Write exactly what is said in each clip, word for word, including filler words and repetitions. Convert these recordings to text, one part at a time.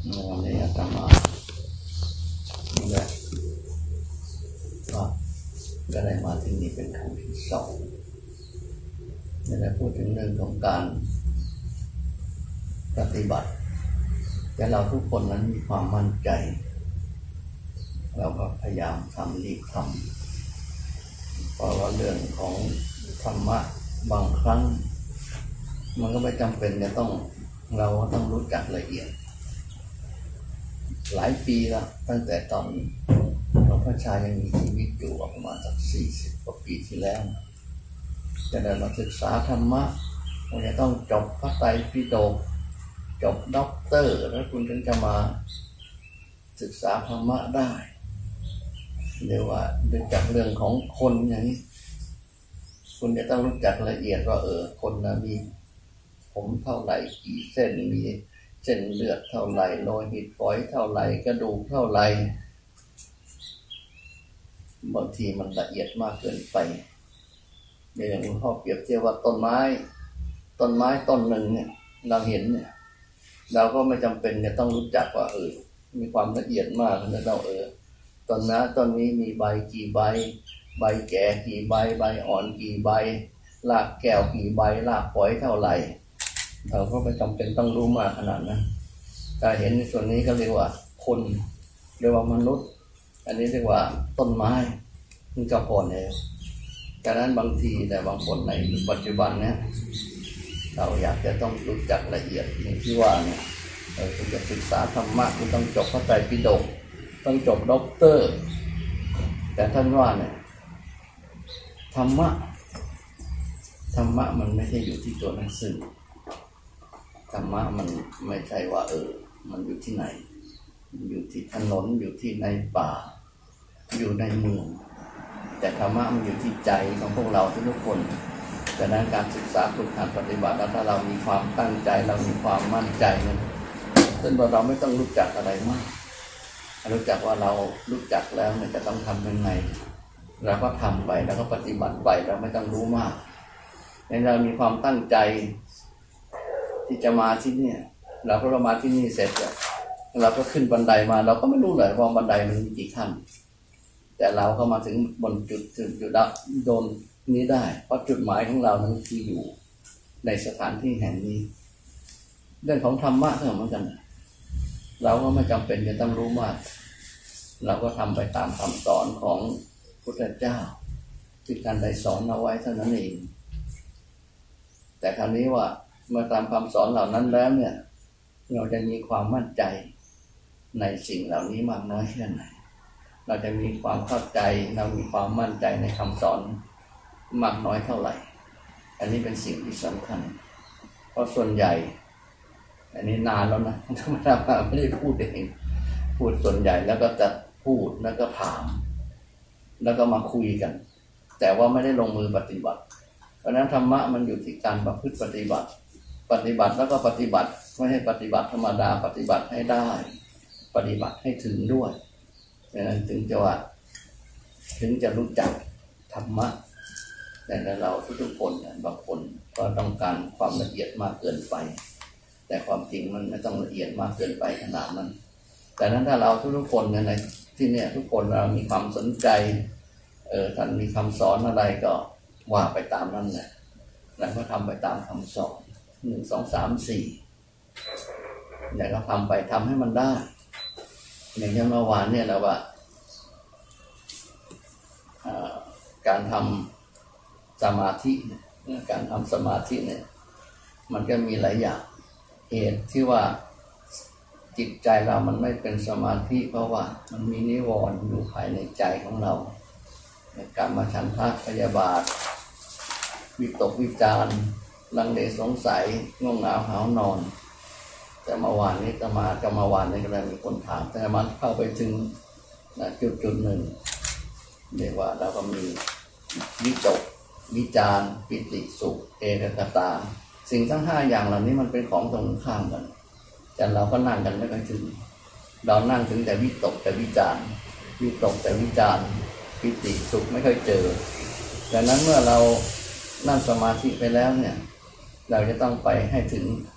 วันนี้อาตมาเนี่ยก็ก็ได้มาที่นี่เป็นครั้งที่สองได้พูดถึงเรื่องของการปฏิบัติแต่เราทุกคนนั้นมีความมั่นใจเราก็พยายามทำรีบทำเพราะว่าเรื่องของธรรมะบางครั้งมันก็ไม่จำเป็นจะต้องเราต้องรู้จักละเอียดหลายปีแล้วตั้งแต่ตอนหลวงพ่อชายังมีชีวิตอยู่ประมาณสักสี่สิบกว่าปีที่แล้วจะได้มาศึกษาธรรมะเราจะต้องจบพระไตรปิฎกจบด็อกเตอร์แล้วคุณถึงจะมาศึกษาธรรมะได้เรียกว่ารู้จักเรื่องของคนอย่างนี้คุณจะต้องรู้จักละเอียดว่าเออคนนะมีผมเท่าไหร่กี่เส้นมีเส้นเลือดเท่าไหร่โลหิตฝอยเท่าไหร่กระดูกเท่าไหร่บางทีมันละเอียดมากเกินไปอย่างหลวงพ่อเปรียบเทียบว่าต้นไม้ต้นไม้ต้นหนึ่งเนี่ยเราเห็นเนี่ยเราก็ไม่จำเป็นจะต้องรู้จักว่าเออมีความละเอียดมากนะเราเออต้นน้าต้นนี้มีใบกี่ใบใบแก่กี่ใบใบอ่อนกี่ใบรากแก้วกี่ใบรากฝอยเท่าไหร่เราก็ไม่จำเป็นต้องรู้มากขนาดนั้นการเห็นในส่วนนี้ก็เรียกว่าคนเรียกว่ามนุษย์อันนี้เรียกว่าต้นไม้มันจะพอแล้วดังนั้นบางทีแต่บางคนในปัจจุบันเนี่ยเราอยากจะต้องรู้จักละเอียดอย่างที่ว่าเนี่ยเราจะศึกษาธรรมะคุณต้องจบพระไตรปิฎกต้องจบด็อกเตอร์แต่ท่านว่าเนี่ยธรรมะธรรมะมันไม่ใช่อยู่ที่ตัวหนังสือธรรมะมันไม่ใช่ว่าเออมันอยู่ที่ไหนอยู่ที่ถนนอยู่ที่ในป่าอยู่ในเมืองแต่ธรรมะมันอยู่ที่ใจของพวกเราทุกคนดังนั้นการศึกษาฝึกหัดปฏิบัติแล้วถ้าเรามีความตั้งใจเรามีความมั่นใจนั้นซึ่งเราไม่ต้องรู้จักอะไรมากรู้จักว่าเรารู้จักแล้วเนี่ยจะต้องทำยังไงเราก็ทำไปแล้วก็ปฏิบัติไปเราไม่ต้องรู้มากในเรามีความตั้งใจที่จะมาที่นี่เราก็เรามาที่นี่เสร็จแล้วเราก็ขึ้นบันไดมาเราก็ไม่รู้เลยว่าบันไดมันมีกี่ขั้นแต่เราก็มาถึงบนจุดจุดจุดโดนนี้ได้เพราะจุดหมายของเรานั้นคืออยู่ในสถานที่แห่งนี้เรื่องของธรรมะก็เหมือนกันเราก็ไม่จำเป็นจะต้องรู้มากเราก็ทำไปตามคำสอนของพุทธเจ้าที่การได้สอนเอาไว้เท่านั้นเองแต่คราวนี้ว่าเมื่อตามคำสอนเหล่านั้นแล้วเนี่ยเราจะมีความมั่นใจในสิ่งเหล่านี้มากน้อยแค่ไหนเราจะมีความเข้าใจเรามีความมั่นใจในคำสอนมากน้อยเท่าไหร่อันนี้เป็นสิ่งที่สำคัญเพราะส่วนใหญ่อันนี้นานแล้วนะธรรมดาไม่ได้พูดเองพูดส่วนใหญ่แล้วก็จะพูดแล้วก็ถามแล้วก็มาคุยกันแต่ว่าไม่ได้ลงมือปฏิบัติเพราะนั้นธรรมะมันอยู่ที่การประพฤติปฏิบัติปฏิบัติแล้วก็ปฏิบัติไม่ให้ปฏิบัติธรรมดาปฏิบัติให้ได้ปฏิบัติให้ถึงด้วยดังนั้นถึงจะว่าถึงจะรู้จักธรรมะแต่เราทุกๆคนบางคนก็ต้องการความละเอียดมากเกินไปแต่ความจริงมันไม่ต้องละเอียดมากเกินไปขนาดนั้นแต่นั้นถ้าเราทุกๆคนในที่เนี่ยทุกคนเรามีความสนใจเออท่านมีคำสอนอะไรก็ว่าไปตามนั้นแหละแล้วก็ทำไปตามคำสอนหนึ่งสองสามสี่เนี่ยก็ทำไปทำให้มันได้อย่างเช่นเมื่อวานเนี่ยเราว่าการทำสมาธิการทำสมาธิเนี่ยมันก็มีหลายอย่างเหตุที่ว่าจิตใจเรามันไม่เป็นสมาธิเพราะว่ามันมีนิวรณ์อยู่ภายในใจของเราในการมาฉันทะพยาบาทวิตกวิจารณ์ลังเลสงสัยง่วงเหงาหาวนอนแต่เมื่อวานนี้จะมาจะมาวานนี้ก็เลยมีคนถามแต่มันเข้าไปถึงจุดจุดหนึ่งเรียกว่าเราก็มีวิตกวิจารณ์ปิติสุขเอกคตาสิ่งทั้งห้าอย่างเหล่านี้มันเป็นของตรงข้ามกันแต่เราก็นั่งกันไม่ค่อยถึงเรานั่งถึงแต่วิตกแต่วิจารณ์วิตกแต่วิจารณ์ปิติสุขไม่ค่อยเจอดังนั้นเมื่อเรานั่งสมาธิไปแล้วเนี่ยเราจะต้องไปให้ถึง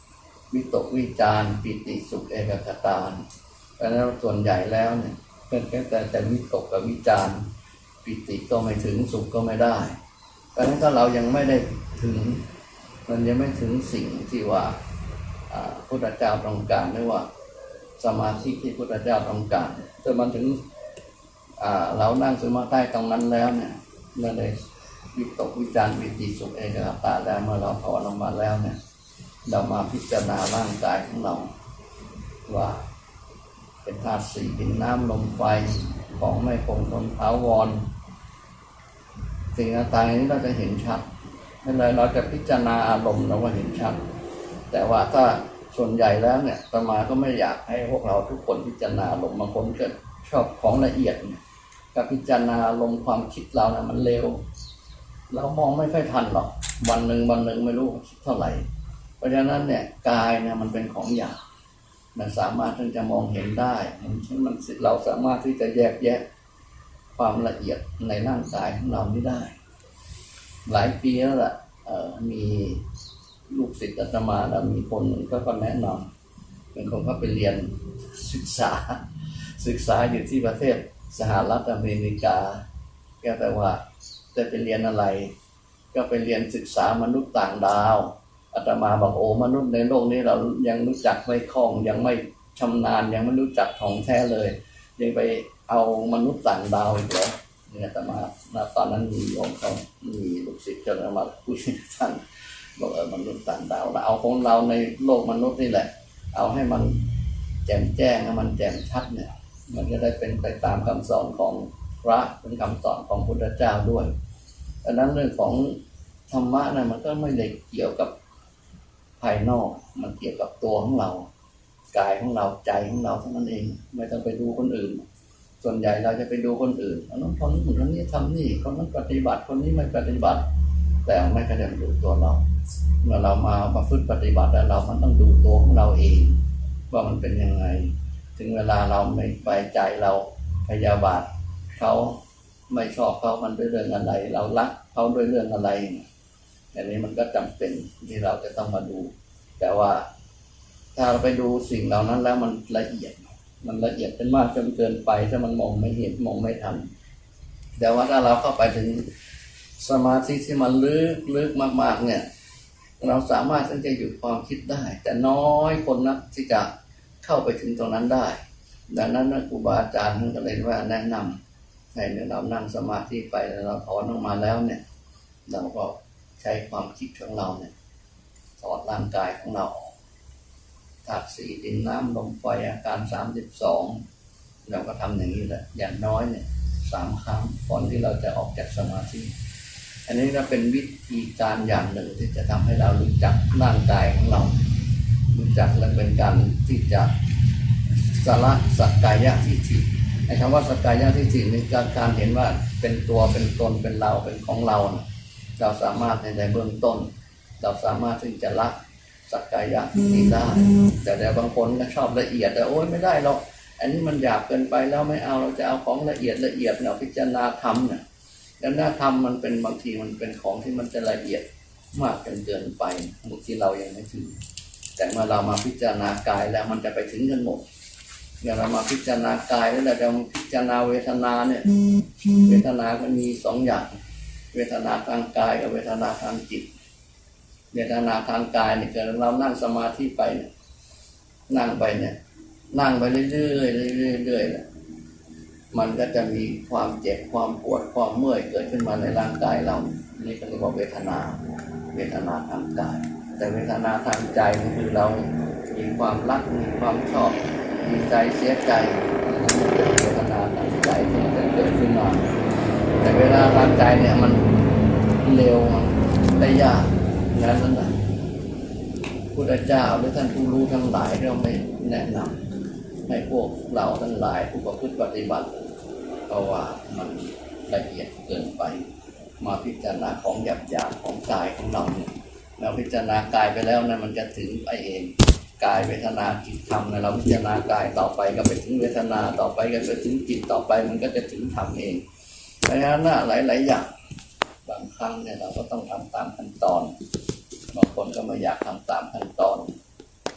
วิตกวิจารปิติสุขเอกคตาเพราะฉะนั้นส่วนใหญ่แล้วเนี่ยเป็นแค่แต่แต่วิตกกับวิจารปิติก็ไม่ถึงสุขก็ไม่ได้เพราะฉะนั้นถ้าเรายังไม่ได้ถึงมันยังไม่ถึงสิ่งที่ว่าพุทธเจ้าต้องการหรือว่าสมาธิที่พุทธเจ้าต้องการจนมันถึงเรานั่งสมาธิตรงนั้นแล้วเนี่ยเมื่อได้วิตกวิจารปิติสุขเอกคตาแล้วเมื่อเราถอนออกมาแล้วเนี่ยเรามาพิจารณาร่างกายของเราว่าเป็นธาตุสี่ดินน้ำลมไฟของไม่คงทนถาวรสิ่งต่างๆนี้เราจะเห็นชัดนั่นเลยเราจะพิจารณาอารมณ์เราก็เห็นชัดแต่ว่าถ้าส่วนใหญ่แล้วเนี่ยอาตมาก็ไม่อยากให้พวกเราทุกคนพิจารณาอารมณ์บางคนก็ชอบของละเอียดเนี่ยการพิจารณาอารมณ์ความคิดเราเนี่ยมันเร็วเรามองไม่ค่อยทันหรอกวันหนึ่งวันหนึ่งไม่รู้คิดเท่าไหร่เพราะฉะนั้นเนี่ยกายเนี่ยมันเป็นของหยาบมันสามารถที่จะมองเห็นได้มันมันเราสามารถที่จะแยกแยะความละเอียดในร่างกายของเรานี้ได้หลายปีแล้วล่ะมีลูกศิษย์อาตมาแล้วมีคนหนึ่งก็ก็แนะนำเป็นคนเขาไปเรียนศึกษาศึกษาอยู่ที่ประเทศสหรัฐอเมริกาก็แต่ว่าจะไปเรียนอะไรก็ไปเรียนศึกษามนุษย์ต่างดาวอาตมาบอกโอ้มนุษย์ในโลกนี้เรายังรู้จักไม่คล่องยังไม่ชำนาญยังไม่รู้จักของแท้เลยยังไปเอามนุษย์ต่างดาวอีกเหรอเนี่ยอาตมาตอนนั้นมีโยมเขามีลูกศิษย์ก็มาคุยกับท่านบอกเออมนุษย์ต่างดาวเราเอาของเราในโลกมนุษย์นี่แหละเอาให้มันแจ่มแจ้งให้มันแจ่มชัดเนี่ยมันจะได้เป็นไปตามคำสอนของพระเป็นคำสอนของพุทธเจ้าด้วยดังนั้นเรื่องของธรรมะนะมันก็ไม่ได้เกี่ยวกับภายนอกมันเกี่ยวกับตัวของเรากายของเราใจของเราเท่านั้นเองไม่ต้องไปดูคนอื่นส่วนใหญ่เราจะไปดูคนอื่นคนนั้นคนนี้คนนี้ทำนี่คนนั้นปฏิบัติคนนี้ไม่ปฏิบัติแต่ไม่กระเด็นดูตัวเราเมื่อเรามาประพฤติปฏิบัติแล้วเรามันต้องดูตัวของเราเองว่ามันเป็นยังไงถึงเวลาเราไม่ไว้ใจเราพยาบาทเขาไม่ชอบเขามันด้วยเรื่องอะไรเรารักเขาด้วยเรื่องอะไรอันนี้มันก็จำเป็นที่เราจะต้องมาดูแต่ว่าถ้าเราไปดูสิ่งเหล่านั้นแล้วมันละเอียดมันละเอียดเป็นมากจนเกินไปถ้ามันมองไม่เห็นมองไม่ทันแต่ว่าถ้าเราเข้าไปถึงสมาธิที่มันลึกลึกมากๆเนี่ยเราสามารถที่จะหยุดความคิดได้แต่น้อยคนนักที่จะเข้าไปถึงตรงนั้นได้ดังนั้นนะครูบาอาจารย์ท่านก็เลยว่าแนะนำให้เรานั่งสมาธิไปแล้วเราถอนออกมาแล้วเนี่ยเราก็ใช้ความคิดของเราเนี่ยถอดร่างกายของเราธาตุสี่ดินน้ำลมไฟอาการสามสิบสองเราก็ทำอย่างนี้แหละอย่างน้อยเนี่ยสามครั้งก่อนที่เราจะออกจากสมาธิอันนี้ก็เป็นวิธีการอย่างหนึ่งที่จะทำให้เรารู้จักร่างกายของเรารู้จักและเป็นการที่จะสละสักกายทิฏฐิไอ้คำว่าสักกายทิฏฐินี่การการเห็นว่าเป็นตัวเป็นตนเป็นเราเป็นของเราเราสามารถในเบื้องต้นเราสามารถที่จะละสักกายทิฏฐิได้แต่แต่บางคนก็ชอบละเอียดแต่โอ๊ยไม่ได้หรอกอันนี้มันหยาบเกินไปแล้วไม่เอาเราจะเอาของละเอียดละเอียดเราพิจารณาธรรมเนี่ยแล้วหน้าธรรมมันเป็นบางทีมันเป็นของที่มันจะละเอียดมากจนเกินไปบางทีเรายังไม่ถึงแต่เมื่อเรามาพิจารณากายแล้วมันจะไปถึงกันหมดอย่างเรามาพิจารณากายแล้วเราพิจารณาเวทนาเนี่ยเวทนาก็มีสองอย่างเวทนาทางกายกับเวทนาทางจิตเวทนาทางกายเนี่ยเรานั่งสมาธิไปเนี่ยนั่งไปเนี่ยนั่งไปเรื่อยๆเรื่อยๆเนี่ยมันก็จะมีความเจ็บความปวดความเมื่อยเกิดขึ้นมาในร่างกายเรานี่ก็เรียกว่าเวทนาเวทนาทางกายแต่เวทนาทางใจนี่คือเรามีความรักมีความชอบมีใจเสียใจนั่นเป็นเวทนาทางใจที่มันเกิดขึ้นมาแต่เวลาทางใจเนี่ยมันเร็วได้ยากนั้นนะพุทธเจ้าหรือท่านผู้รู้ทั้งหลายเราไม่แนะนำให้พวกเราทั้งหลายผู้ประพฤติปฏิบัติเพราะว่ามันละเอียดเกินไปมาพิจารณาของหยาบๆของกายของเราเนี่ยเราพิจารณากายไปแล้วนะมันจะถึงไปเองกายเวทนาจิตธรรมนะเราพิจารณากายต่อไปก็ไปถึงเวทนาต่อไปก็ไปถึงจิตต่อไปมันก็จะถึงธรรมเองเพราะฉะนั้นนะหลายๆอย่างบางครั้งเนี่ยเราก็ต้องทำตามขั้นตอนบางคนก็ไม่อยากทำตามขั้นตอน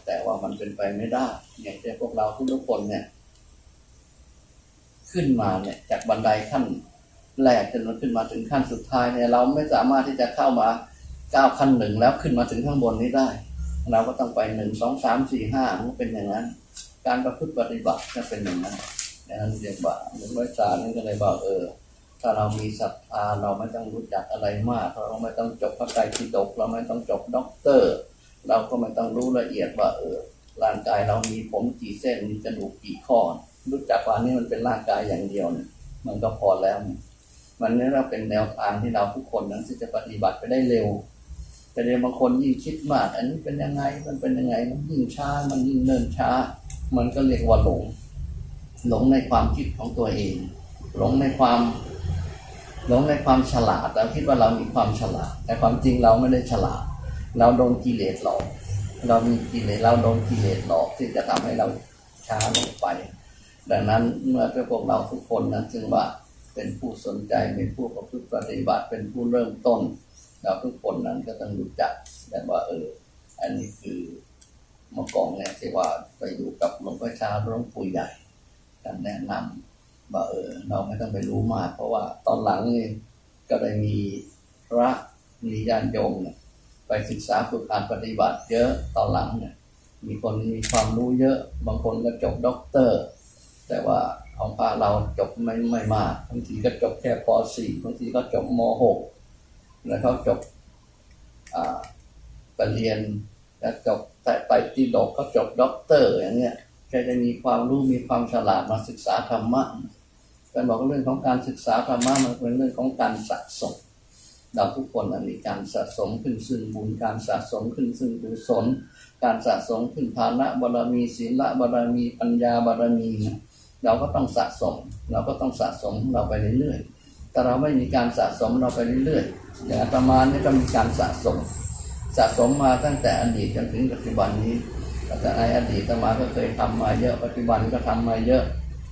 แต่ว่ามันเป็นไปไม่ได้อย่างที่พวกเราทุกๆคนเนี่ยขึ้นมาเนี่ยจากบันไดขั้นแรกจนมันขึ้นมาถึงขั้นสุดท้ายเนี่ยเราไม่สามารถที่จะเข้ามาก้าวขั้นหนึ่งแล้วขึ้นมาถึงข้างบนนี้ได้เราก็ต้องไปหนึ่งสองสามสี่ห้ามันเป็นอย่างนั้นการประพฤติปฏิบัติจะเป็นอย่างนั้นดังนั้นเรียกว่าหลวงพ่อจารย์นี่ก็เลยบอกเออถ้าเรามีศรัทธาเราไม่ต้องรู้จักอะไรมากเราไม่ต้องจบพระไตรปิฎกเราไม่ต้องจบด็อกเตอร์เราก็ไม่ต้องรู้ละเอียดว่าเออร่างกายเรามีผมกี่เส้นมีกระดูกกี่ข้อรู้จักว่านี่มันเป็นร่างกายอย่างเดียวเนี่ยมันก็พอแล้วมันนี่เราเป็นแนวทางที่เราทุกคนนั้นที่จะปฏิบัติไปได้เร็วแต่เดี๋ยวบางคนยิ่งคิดมากอันนี้เป็นยังไงมันเป็นยังไงมันยิ่งช้ามันยิ่งเนิ่นช้ามันก็เรียกว่าหลงหลงในความคิดของตัวเองหลงในความหลงในความฉลาดเราคิดว่าเรามีความฉลาดแต่ความจริงเราไม่ได้ฉลาดเราโดนกิเลสหลอกเรามีกิเลสเราโดนกิเลสหลอกที่จะทำให้เราช้าลงไปดังนั้นเมื่อพวกเราทุกคนนั้นจึงว่าเป็นผู้สนใจเป็นผู้ประพฤติปฏิบัติเป็นผู้เริ่มต้นเราทุกคนนั้นก็ต้องรู้จักแต่ว่าเอออันนี้คือเมื่อก่อนเนี่ยที่ว่าไปอยู่กับหลวงพ่อชาหลวงปู่ใหญ่ท่านแนะนำว่าเออเราไม่ต้องไปรู้มากเพราะว่าตอนหลังนี่ก็ได้มีพระมีญาติโยมเนี่ยไปศึกษาฝึกการปฏิบัติเยอะตอนหลังเนี่ยมีคนมีความรู้เยอะบางคนก็จบด็อกเตอร์แต่ว่าของพาเราจบไม่ไม่มากบางทีก็จบแค่ป สี่ บางทีก็จบม หก แล้วเขาจบอ่าไปเรียนแล้วจบแต่ไปที่ดอกเขาจบด็อกเตอร์อย่างเงี้ยแกจะมีความรู้มีความฉลาดมาศึกษาธรรมะการบอกเรื่องของการศึกษาธรรมะมันเป็นเรื่องของการสะสมเราทุกคนมีการสะสมขึ้นซึ่งบุญการสะสมขึ้นซึ่งกุศลการสะสมขึ้นฐานะบารมีศีลบารมีปัญญาบารมีเราก็ต้องสะสมเราก็ต้องสะสมเราไปเรื่อยๆแต่เราไม่มีการสะสมเราไปเรื่อยๆอย่างอาตมาเนี่ยก็มีการสะสมสะสมมาตั้งแต่อดีตจนถึงปัจจุบันนี้แต่ในอดีตอาตมาก็เคยทำมาเยอะปัจจุบันก็ทำมาเยอะ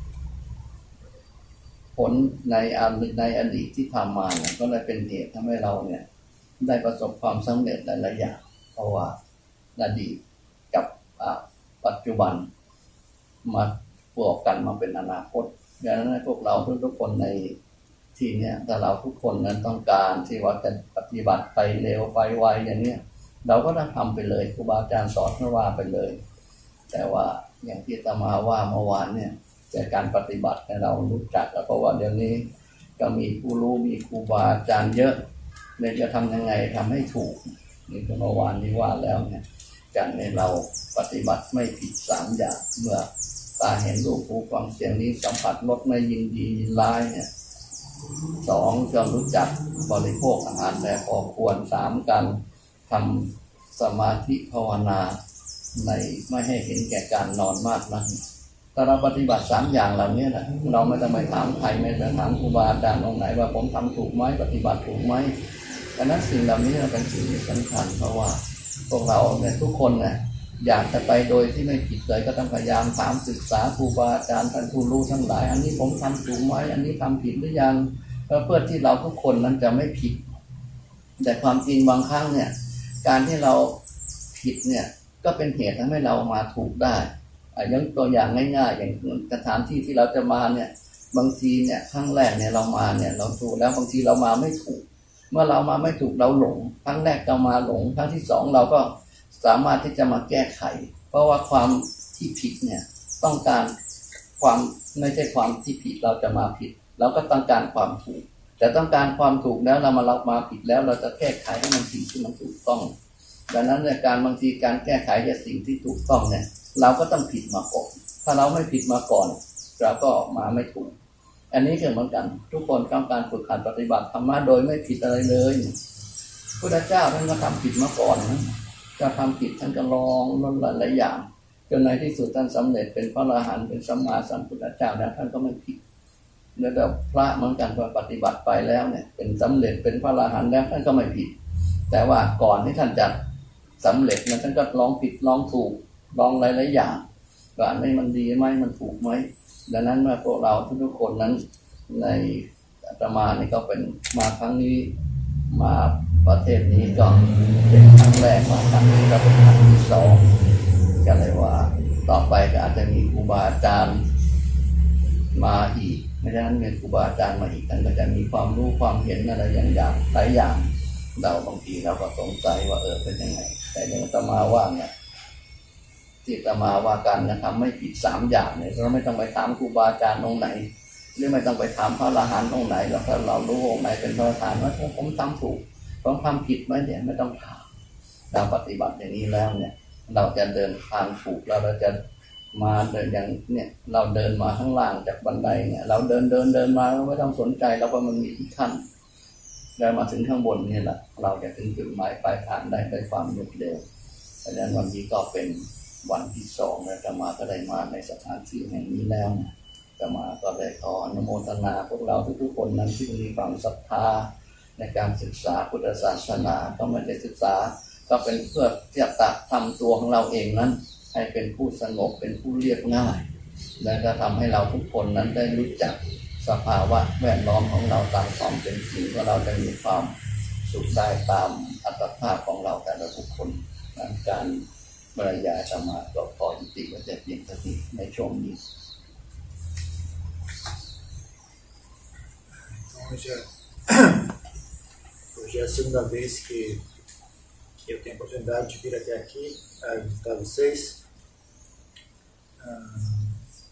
ผลในอดีตในอดีตที่ทำมาเนี่ยก็เลยเป็นเหตุทำให้เราเนี่ยได้ประสบความสำเร็จหลายๆอย่างเพราะว่าอดีตกับปัจจุบันมาบวกกันมาเป็นอนาคตดังนั้นพวกเราทุกๆคนในที่นี้ถ้าเราทุกคนนั้นต้องการที่ว่าจะปฏิบัติไปเร็วไปไวอย่างนี้เราก็ต้องทำไปเลยครูบาอาจารย์สอนว่าไปเลยแต่ว่าอย่างที่อาตมาว่าเมื่อวานเนี่ยจากการปฏิบัติให้เรารู้จักเพราะว่าเดี๋ยวนี้ก็มีผู้รู้มีครูบาอาจารย์เยอะเลยจะทำยังไงทำให้ถูกนี่เมื่อวานนี้ว่าแล้วเนี่ยการในเราปฏิบัติไม่ผิดสามอย่างเมื่อตาเห็นรูปหูฟังเสียงนี้สัมผัสรสไม่ยินดียินร้ายเนี่ยสองจะรู้จักบริโภคอาหารแต่พอควรสามการทำสมาธิภาวนาในไม่ให้เห็นแก่การนอนมากนักถ้าเราปฏิบัติสามอย่างเหล่านี้นะเราไม่ต้องไปถามใครไม่ต้องถามครูบาอาจารย์องค์ไหนว่าผมทำถูกไหมปฏิบัติถูกไหมดังนั้นสิ่งเหล่านี้เป็นสิ่งที่สำคัญเพราะว่าพวกเราเนี่ยทุกคนเนี่ยอยากจะไปโดยที่ไม่ผิดเลยก็ต้องพยายามถามศึกษาครูบาอาจารย์ท่านผู้รู้ทั้งหลายอันนี้ผมทำถูกไหมอันนี้ทำผิดหรือยังเพื่อที่เราทุกคนนั้นจะไม่ผิดแต่ความจริงบางครั้งเนี่ยการที่เราผิดเนี่ยก็เป็นเหตุทำให้เรามาถูกได้อย่างตัวอย่างง่ายๆอย่างสถานที่ที่เราจะมาเนี่ยบางทีเนี่ยครั้งแรกเนี่ยเรามาเนี่ยเราถูกแล้วบางทีเรามาไม่ถูกเมื่อเรามาไม่ถูกเราหลงครั้งแรกเรามาหลงครั้งที่สองเราก็สามารถที่จะมาแก้ไขเพราะว่าความที่ผิดเนี่ยต้องการความไม่ใช่ความที่ผิดเราจะมาผิดเราก็ต้องการความถูกแต่ต้องการความถูกแล้วเรามาเรามาผิดแล้วเราจะแก้ไขให้มันสิ่งที่มันถูกต้องดังนั้นในการบางทีการแก้ไขจากสิ่งที่ถูกต้องเนี่ยเราก็ต้องผิดมาก่อนถ้าเราไม่ผิดมาก่อนเราก็มาไม่ถูกอันนี้ก็เหมือนกันทุกคนต้องการฝึกหัดปฏิบัติธรรมะโดยไม่ผิดอะไรเลยพุทธเจ้าท่านก็ทำผิดมาก่อนนะจะทำผิดท่านก็ลองนั่นหลายอย่างจนในที่สุดท่านสำเร็จเป็นพระอรหันต์เป็นสัมมาสัมพุทธเจ้าแล้วท่านก็ไม่ผิดแล้วแต่พระเหมือนกันพอปฏิบัติไปแล้วเนี่ยเป็นสำเร็จเป็นพระอรหันต์แล้วท่านก็ไม่ผิดแต่ว่าก่อนที่ท่านจะสำเร็จนั้นท่านก็ลองผิดลองถูกลองหลายๆอย่างว่าอันนี้มันดีไหมมันถูกไหมดังนั้นเมื่อพวกเราทุกๆคนนั้นในอาตมานี่ก็เป็นมาครั้งนี้มาประเทศนี้ก็เป็นครั้งแรกมาครั้งนี้ก็เป็นครั้งที่สองก็เลยว่าต่อไปก็อาจจะมีครูบาอาจารย์มาอีกไม่ฉะนั้นมีครูบาอาจารย์มาอีกท่านก็จะมีความรู้ความเห็นอะไรอย่างๆหลายอย่างเราบางทีเราก็สงสัยว่าเออเป็นยังไงแต่อย่างอาตมาว่าเนี่ยที่อาตมาว่าการกระทำไม่ผิดสามอย่างเนี่ยเราไม่ต้องไปถามครูบาอาจารย์องค์ไหนหรือไม่ต้องไปถามพระอรหันต์องค์ไหนหรอกถ้าเรารู้องค์ไหนเป็นพระอรหันต์ว่าผมทำถูกผมทำผิดไหมเนี่ยไม่ต้องถามเราปฏิบัติอย่างนี้แล้วเนี่ยเราจะเดินทางถูกแล้วเราจะมาเดินอย่างเนี่ยเราเดินมาข้างล่างจากบันไดเนี่ยเราเดินเดินเดินมาไม่ต้องสนใจแล้วว่ามันมีที่ขั้นได้มาถึงข้างบนนี่แหละเราจะถึงจุดหมายปลายทางได้ด้วยความรวดเร็วเพราะฉะนั้นวันนี้ก็เป็นวันที่สองแล้วจะมาก็ได้มาในสถานที่แห่งนี้แล้วจะมาก็ได้ขออนุโมทนาพวกเราทุกๆคนนั้นที่มีความศรัทธาในการศึกษาพุทธศาสนาก็ไม่ได้ศึกษาก็เป็นเพื่อที่จะทำตัวของเราเองนั้นให้เป็นผู้สงบเป็นผู้เรียบง่ายและจะทำให้เราทุกคนนั้นได้รู้จักสภาวะแวดล้อมของเราตามความเป็นจริงว่าเราจะมีความสุขได้ตามอัตภาพของเราแต่ละทุกคนการบรรยายธรรมะก็ขอยุติไว้แต่เพียงเท่านี้ในช่วงนี้ Hoje é, hoje é a segunda vez que, que eu tenho a oportunidade de vir até aqui a visitar vocês. Ah,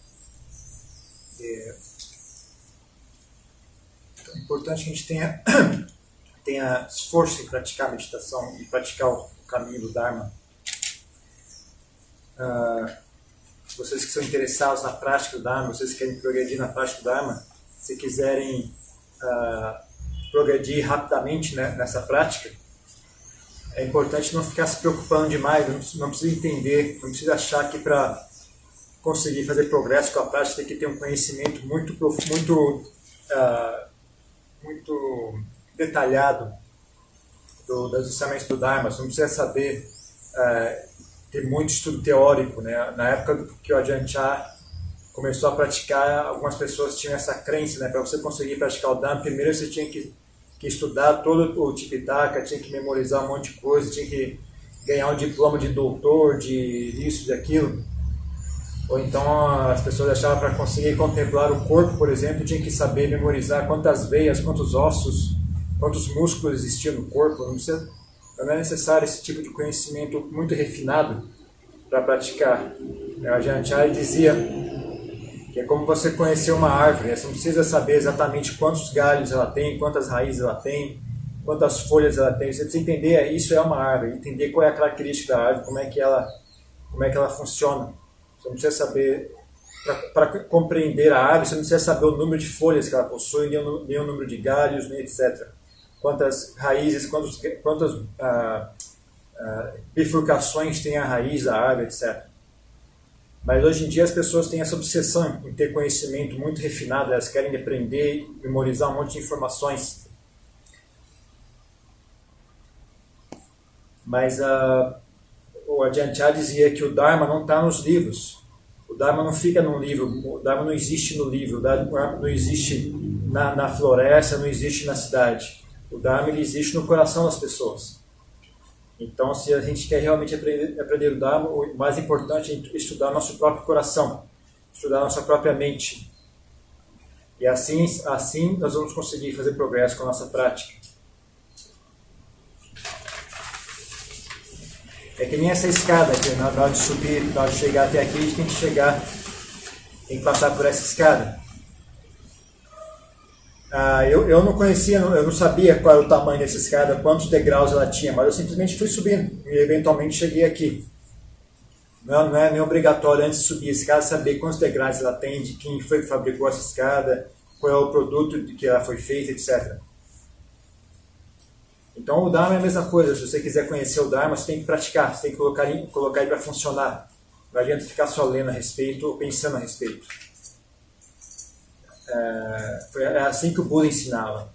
é, então é importante que a gente tenha, tenha esforço em praticar a meditação e praticar o caminho do Dharma. Ah, vocês que são interessados na prática do Dharma, vocês que querem progredir na prática do Dharma, se quiserem Uh, progredir rapidamente, né, nessa prática, é importante não ficar se preocupando demais, não, não precisa entender, não precisa achar que para conseguir fazer progresso com a prática tem que ter um conhecimento muito, muito, uh, muito detalhado do, dos ensinamentos do Dharma, você não precisa saber uh, ter muito estudo teórico, né? Na época que o Ajahn Chah começou a praticar, algumas pessoas tinham essa crença, né? Para você conseguir praticar o Dharma, primeiro você tinha que, que estudar todo o Tipitaka, tinha que memorizar um monte de coisa, tinha que ganhar um diploma de doutor, de isso, de aquilo. Ou então as pessoas achavam para conseguir contemplar o corpo, por exemplo, tinha que saber memorizar quantas veias, quantos ossos, quantos músculos existiam no corpo. Não, precisa, não é necessário esse tipo de conhecimento muito refinado para praticar. A Ajahn Chah dizia que é como você conhecer uma árvore, você não precisa saber exatamente quantos galhos ela tem, quantas raízes ela tem, quantas folhas ela tem, você precisa entender, isso é uma árvore, entender qual é a característica da árvore, como é que ela, como é que ela funciona. Você não precisa saber, para compreender a árvore, você não precisa saber o número de folhas que ela possui, nem o, nem o número de galhos, nem etcétera. Quantas raízes, quantos, quantas ah, ah, bifurcações tem a raiz da árvore, etcétera. Mas hoje em dia as pessoas têm essa obsessão em ter conhecimento muito refinado, elas querem aprender e memorizar um monte de informações. Mas uh, o Ajahn Chah dizia que o Dharma não está nos livros. O Dharma não fica num livro, o Dharma não existe no livro, o Dharma não existe na, na floresta, não existe na cidade. O Dharma ele existe no coração das pessoas. Então, se a gente quer realmente aprender, aprender o Dharma, o mais importante é estudar nosso próprio coração, estudar nossa própria mente. E assim, assim nós vamos conseguir fazer progresso com a nossa prática. É que nem essa escada aqui, na hora de subir, na hora de chegar até aqui, a gente tem que chegar, tem que passar por essa escada. Ah, eu, eu não conhecia, eu não sabia qual era o tamanho dessa escada, quantos degraus ela tinha, mas eu simplesmente fui subindo e eventualmente cheguei aqui. Não, não é nem obrigatório antes de subir a escada saber quantos degraus ela tem, de quem foi que fabricou essa escada, qual é o produto de que ela foi feita, etcétera. Então o Dharma é a mesma coisa, se você quiser conhecer o Dharma, você tem que praticar, você tem que colocar, colocar ele para funcionar. Não adianta ficar só lendo a respeito ou pensando a respeito. É, foi assim que o Buda ensinava.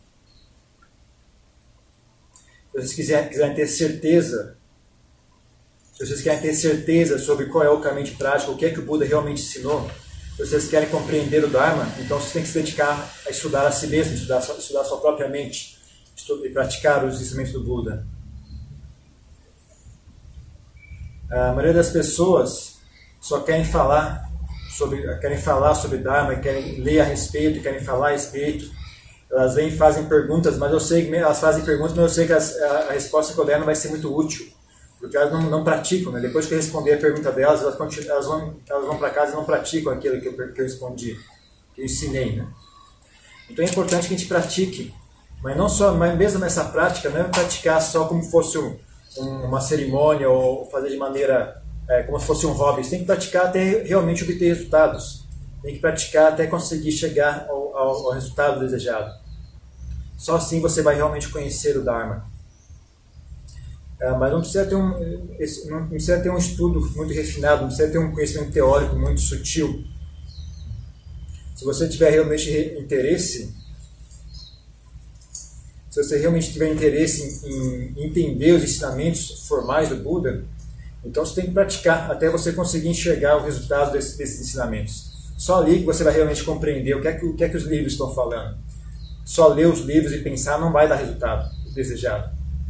Se vocês quiserem, quiserem ter certeza, se vocês querem ter certeza sobre qual é o caminho de prática, o que é que o Buda realmente ensinou, se vocês querem compreender o Dharma, então vocês têm que se dedicar a estudar a si mesmo, estudar, estudar a sua própria mente, estudar, e praticar os ensinamentos do Buda. A maioria das pessoas só querem falar sobre, querem falar sobre Dharma, querem ler a respeito, querem falar a respeito. Elas vêm e fazem perguntas, mas eu sei que elas fazem perguntas, mas eu sei que as, a, a resposta que eu der não vai ser muito útil, porque elas não, não praticam, né? Depois que eu responder a pergunta delas, elas, continuam, elas vão, elas vão para casa e não praticam aquilo que eu, que eu respondi, que eu ensinei, né? Então é importante que a gente pratique, mas não só, mas mesmo nessa prática, não é praticar só como fosse um, um, uma cerimônia ou fazer de maneira é, como se fosse um hobby. Você tem que praticar até realmente obter resultados. Tem que praticar até conseguir chegar ao, ao, ao resultado desejado. Só assim você vai realmente conhecer o Dharma. É, mas não precisa ter um, não precisa ter um estudo muito refinado, não precisa ter um conhecimento teórico muito sutil. Se você tiver realmente interesse, se você realmente tiver interesse em, em entender os ensinamentos formais do Buda, então você tem que praticar até você conseguir enxergar o resultado desse, desses ensinamentos. Só ali que você vai realmente compreender o que é que, o que é que os livros estão falando. Só ler os livros e pensar não vai dar resultado desejado.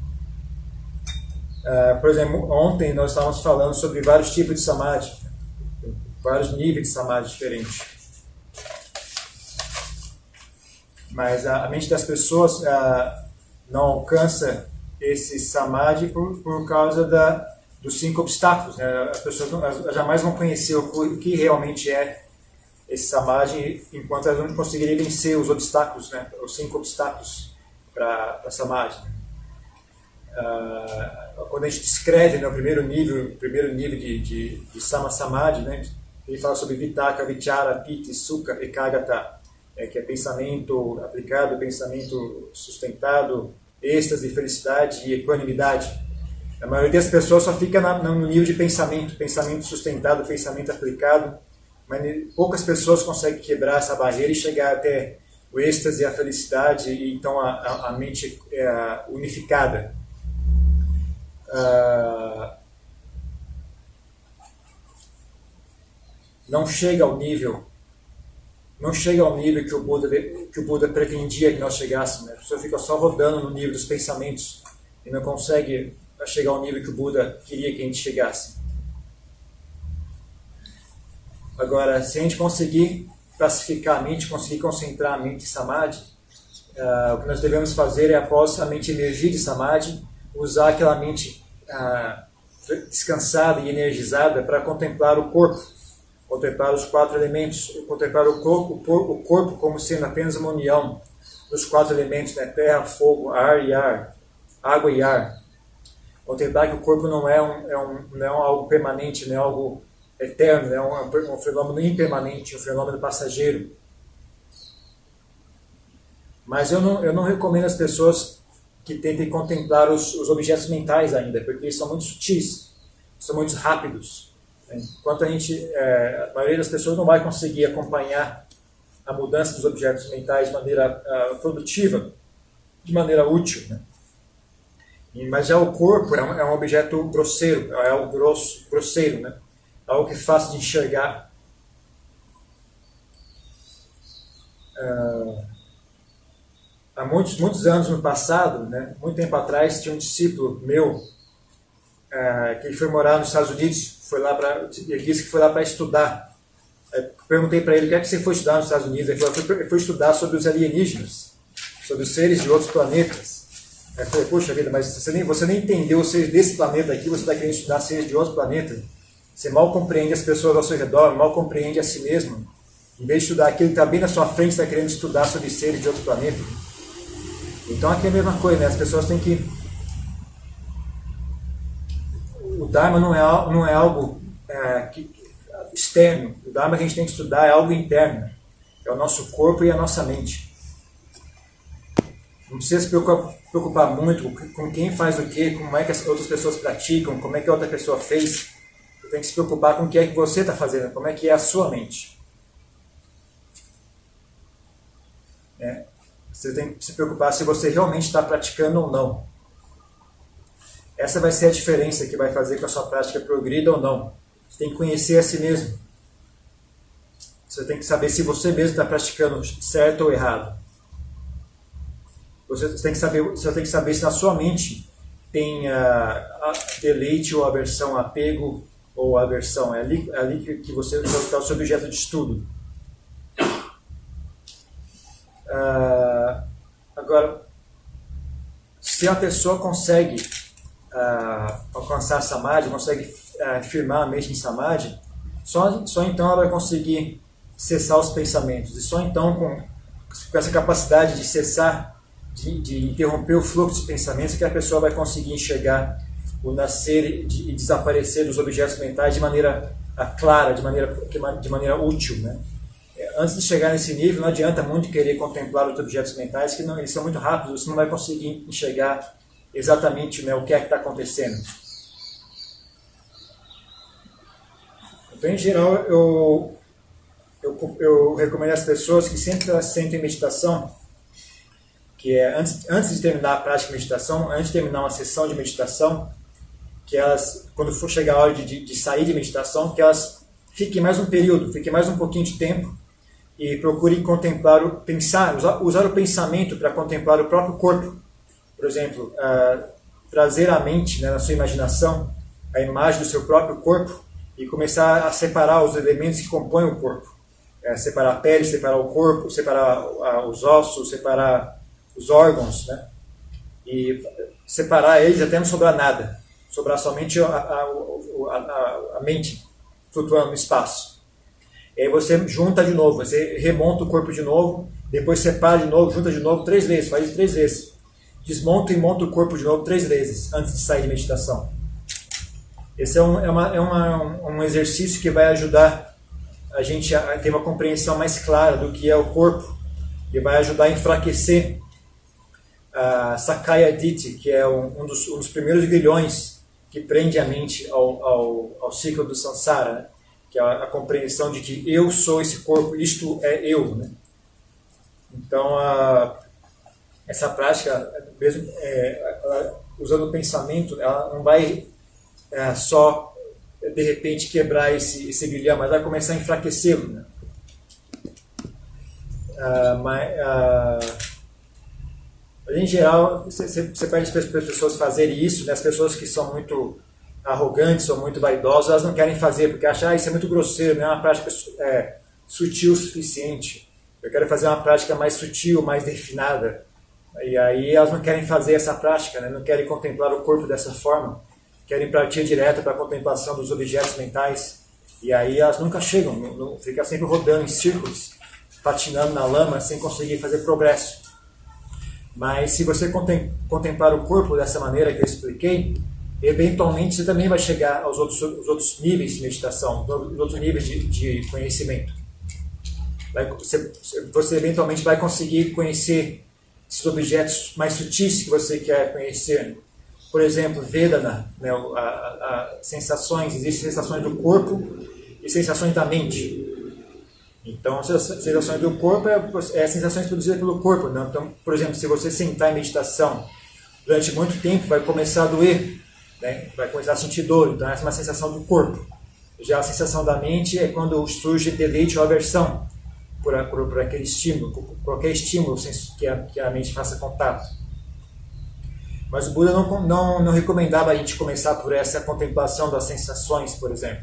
Uh, por exemplo, ontem nós estávamos falando sobre vários tipos de samadhi, vários níveis de samadhi diferentes. Mas a, a mente das pessoas uh, não alcança esse samadhi por, por causa da, dos cinco obstáculos, né? As pessoas não, elas jamais vão conhecer o, o que realmente é esse samadhi enquanto elas não conseguirem vencer os obstáculos, né? Os cinco obstáculos para a samadhi. Uh, quando a gente descreve, né, o primeiro nível, o primeiro nível de, de, de Sama Samadhi, né, ele fala sobre Vitaka, Vichara, Piti, Sukha, Ekagata, é, que é pensamento aplicado, pensamento sustentado, êxtase, felicidade e equanimidade. A maioria das pessoas só fica na, no nível de pensamento, pensamento sustentado, pensamento aplicado, mas poucas pessoas conseguem quebrar essa barreira e chegar até o êxtase e a felicidade, e então a, a, a mente é, unificada. Uh, não chega ao nível não chega ao nível que o Buda que o Buda pretendia que nós chegássemos, né? A pessoa fica só rodando no nível dos pensamentos e não consegue chegar ao nível que o Buda queria que a gente chegasse. Agora, se a gente conseguir classificar a mente, conseguir concentrar a mente em Samadhi, uh, o que nós devemos fazer é, após a mente emergir de Samadhi, usar aquela mente ah, descansada e energizada para contemplar o corpo, contemplar os quatro elementos, contemplar o corpo, o corpo como sendo apenas uma união dos quatro elementos, né? Terra, fogo, ar e ar, água e ar. Contemplar que o corpo não é, um, é, um, não é um algo permanente, não é algo eterno, é um, um fenômeno impermanente, um fenômeno passageiro. Mas eu não, eu não recomendo às pessoas que tentem contemplar os, os objetos mentais ainda, porque eles são muito sutis, são muito rápidos. Enquanto a gente, é, a maioria das pessoas não vai conseguir acompanhar a mudança dos objetos mentais de maneira uh, produtiva, de maneira útil, né? E, mas já o corpo é um, é um objeto grosseiro, é algo grosso, grosseiro, né? Algo que é fácil de enxergar. Uh, Há muitos, muitos anos no passado, né, muito tempo atrás, tinha um discípulo meu é, que ele foi morar nos Estados Unidos, foi lá pra, ele disse que foi lá para estudar. Eu perguntei para ele o que é que você foi estudar nos Estados Unidos. Ele falou que foi, foi estudar sobre os alienígenas, sobre os seres de outros planetas. Eu falei, poxa vida, mas você nem, você nem entendeu os seres desse planeta aqui, você está querendo estudar seres de outro planeta. Você mal compreende as pessoas ao seu redor, mal compreende a si mesmo. Em vez de estudar aquilo que está bem na sua frente, você está querendo estudar sobre seres de outro planeta. Então aqui é a mesma coisa, né? As pessoas têm que... O Dharma não é, não é algo é, que, externo. O Dharma que a gente tem que estudar é algo interno. É o nosso corpo e a nossa mente. Não precisa se preocupar, preocupar muito com quem faz o quê, como é que as outras pessoas praticam, como é que a outra pessoa fez. Você tem que se preocupar com o que é que você está fazendo, como é que é a sua mente. É. Você tem que se preocupar se você realmente está praticando ou não. Essa vai ser a diferença que vai fazer com que a sua prática progrida ou não. Você tem que conhecer a si mesmo. Você tem que saber se você mesmo está praticando certo ou errado. Você tem que saber, você tem que saber se na sua mente tem a, a deleite ou aversão, apego ou aversão. É ali, é ali que, que você está o seu objeto de estudo. Uh, agora, se a pessoa consegue uh, alcançar Samadhi, consegue uh, firmar a mente em Samadhi, só, só então ela vai conseguir cessar os pensamentos. E só então, com, com essa capacidade de cessar, de, de interromper o fluxo de pensamentos, que a pessoa vai conseguir enxergar o nascer e de, desaparecer dos objetos mentais de maneira uh, clara, de maneira, de maneira útil, né? Antes de chegar nesse nível, não adianta muito querer contemplar os objetos mentais, que não, eles são muito rápidos, você não vai conseguir enxergar exatamente, né, o que é que está acontecendo. Então, em geral, eu, eu, eu recomendo às pessoas que sempre elas sentem meditação, que é antes, antes de terminar a prática de meditação, antes de terminar uma sessão de meditação, que elas, quando for chegar a hora de, de, de sair de meditação, que elas fiquem mais um período, fiquem mais um pouquinho de tempo, e procure contemplar, o, pensar, usar, usar o pensamento para contemplar o próprio corpo. Por exemplo, uh, trazer à mente, né, na sua imaginação, a imagem do seu próprio corpo e começar a separar os elementos que compõem o corpo. É, separar a pele, separar o corpo, separar uh, os ossos, separar os órgãos, né? E separar eles até não sobrar nada. Sobrar somente a, a, a, a, a mente flutuando no espaço. E aí você junta de novo, você remonta o corpo de novo, depois separa de novo, junta de novo três vezes, faz isso três vezes. Desmonta e monta o corpo de novo três vezes antes de sair de meditação. Esse é um, é uma, é uma, um exercício que vai ajudar a gente a ter uma compreensão mais clara do que é o corpo e vai ajudar a enfraquecer a Sakaya Ditti, que é um, um, dos, um dos primeiros grilhões que prende a mente ao, ao, ao ciclo do samsara, né? Que é a, a compreensão de que eu sou esse corpo, isto é eu, né? Então, a, essa prática, mesmo é, ela, usando o pensamento, ela não vai é, só, de repente, quebrar esse, esse grilhão, mas vai começar a enfraquecê-lo, né? Ah, mas, ah, em geral, você, você pede para as pessoas fazerem isso, né? As pessoas que são muito arrogantes ou muito vaidosas, elas não querem fazer, porque acham, ah, isso é muito grosseiro, não é uma prática é, sutil o suficiente. Eu quero fazer uma prática mais sutil, mais refinada. E aí elas não querem fazer essa prática, né? Não querem contemplar o corpo dessa forma, querem partir direto para a contemplação dos objetos mentais. E aí elas nunca chegam, não, não, ficam sempre rodando em círculos, patinando na lama, sem conseguir fazer progresso. Mas se você contemplar o corpo dessa maneira que eu expliquei, eventualmente você também vai chegar aos outros, aos outros níveis de meditação, aos outros níveis de, de conhecimento. Vai, você, você eventualmente vai conseguir conhecer esses objetos mais sutis que você quer conhecer. Por exemplo, Vedana, né, a, a, a sensações, existem sensações do corpo e sensações da mente. Então, as sensações do corpo é, é sensações produzidas pelo corpo. Né? Então, por exemplo, se você sentar em meditação durante muito tempo, vai começar a doer, né? Vai começar a sentir dor. Então, essa é uma sensação do corpo. Já a sensação da mente é quando surge deleite ou aversão por, por, por aquele estímulo, por qualquer estímulo que a, que a mente faça contato. Mas o Buda não, não, não recomendava a gente começar por essa contemplação das sensações, por exemplo.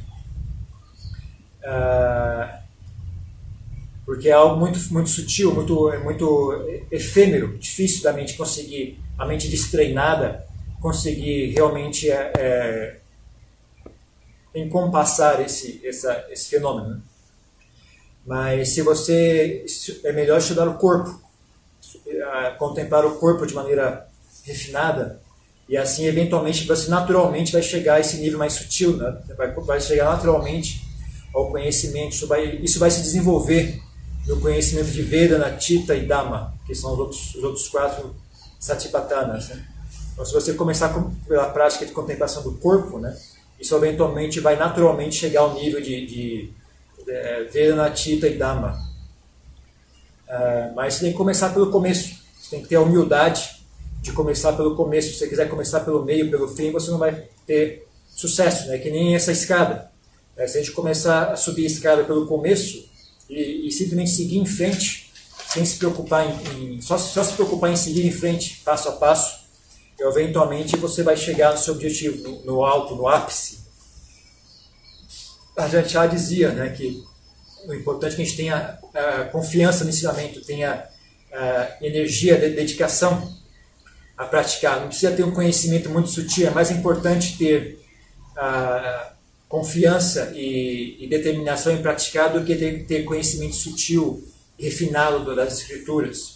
Uh, porque é algo muito, muito sutil, muito, muito efêmero, difícil da mente conseguir, a mente destreinada, conseguir realmente é, é, encompassar esse, essa, esse fenômeno. Mas se você, é melhor estudar o corpo, contemplar o corpo de maneira refinada, e assim eventualmente você naturalmente vai chegar a esse nível mais sutil, né? vai, vai chegar naturalmente ao conhecimento, isso vai, isso vai se desenvolver no conhecimento de Vedana, Chitta e Dhamma, que são os outros, os outros quatro Satipatthanas, né? Então, se você começar com, pela prática de contemplação do corpo, né, isso eventualmente vai naturalmente chegar ao nível de, de, de Vedana, Chitta e Dhamma. Uh, mas você tem que começar pelo começo, você tem que ter a humildade de começar pelo começo. Se você quiser começar pelo meio, pelo fim, você não vai ter sucesso, né? Que nem essa escada. É, se a gente começar a subir a escada pelo começo e, e simplesmente seguir em frente, sem se preocupar em, em só, só se preocupar em seguir em frente, passo a passo, eventualmente você vai chegar no seu objetivo, no, no alto, no ápice. A Ajahn Chah dizia, né, que o importante é que a gente tenha uh, confiança no ensinamento, tenha uh, energia, de, dedicação a praticar. Não precisa ter um conhecimento muito sutil, é mais importante ter uh, confiança e, e determinação em praticar do que ter, ter conhecimento sutil e refinado das escrituras.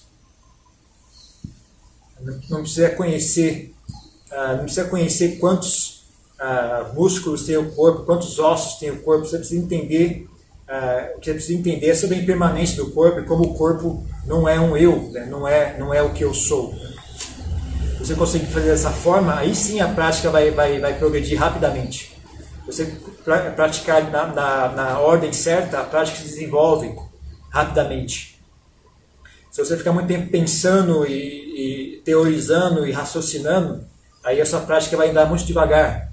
Não, não precisa conhecer, uh, não precisa conhecer quantos uh, músculos tem o corpo, quantos ossos tem o corpo. Você precisa entender Uh, o que você precisa entender é sobre a impermanência do corpo e como o corpo não é um eu, né? não, é, não é o que eu sou. Né? Você consegue fazer dessa forma, aí sim a prática vai, vai, vai progredir rapidamente. Você pra, praticar na, na, na ordem certa, a prática se desenvolve rapidamente. Se você ficar muito tempo pensando e, e teorizando e raciocinando, aí a sua prática vai andar muito devagar.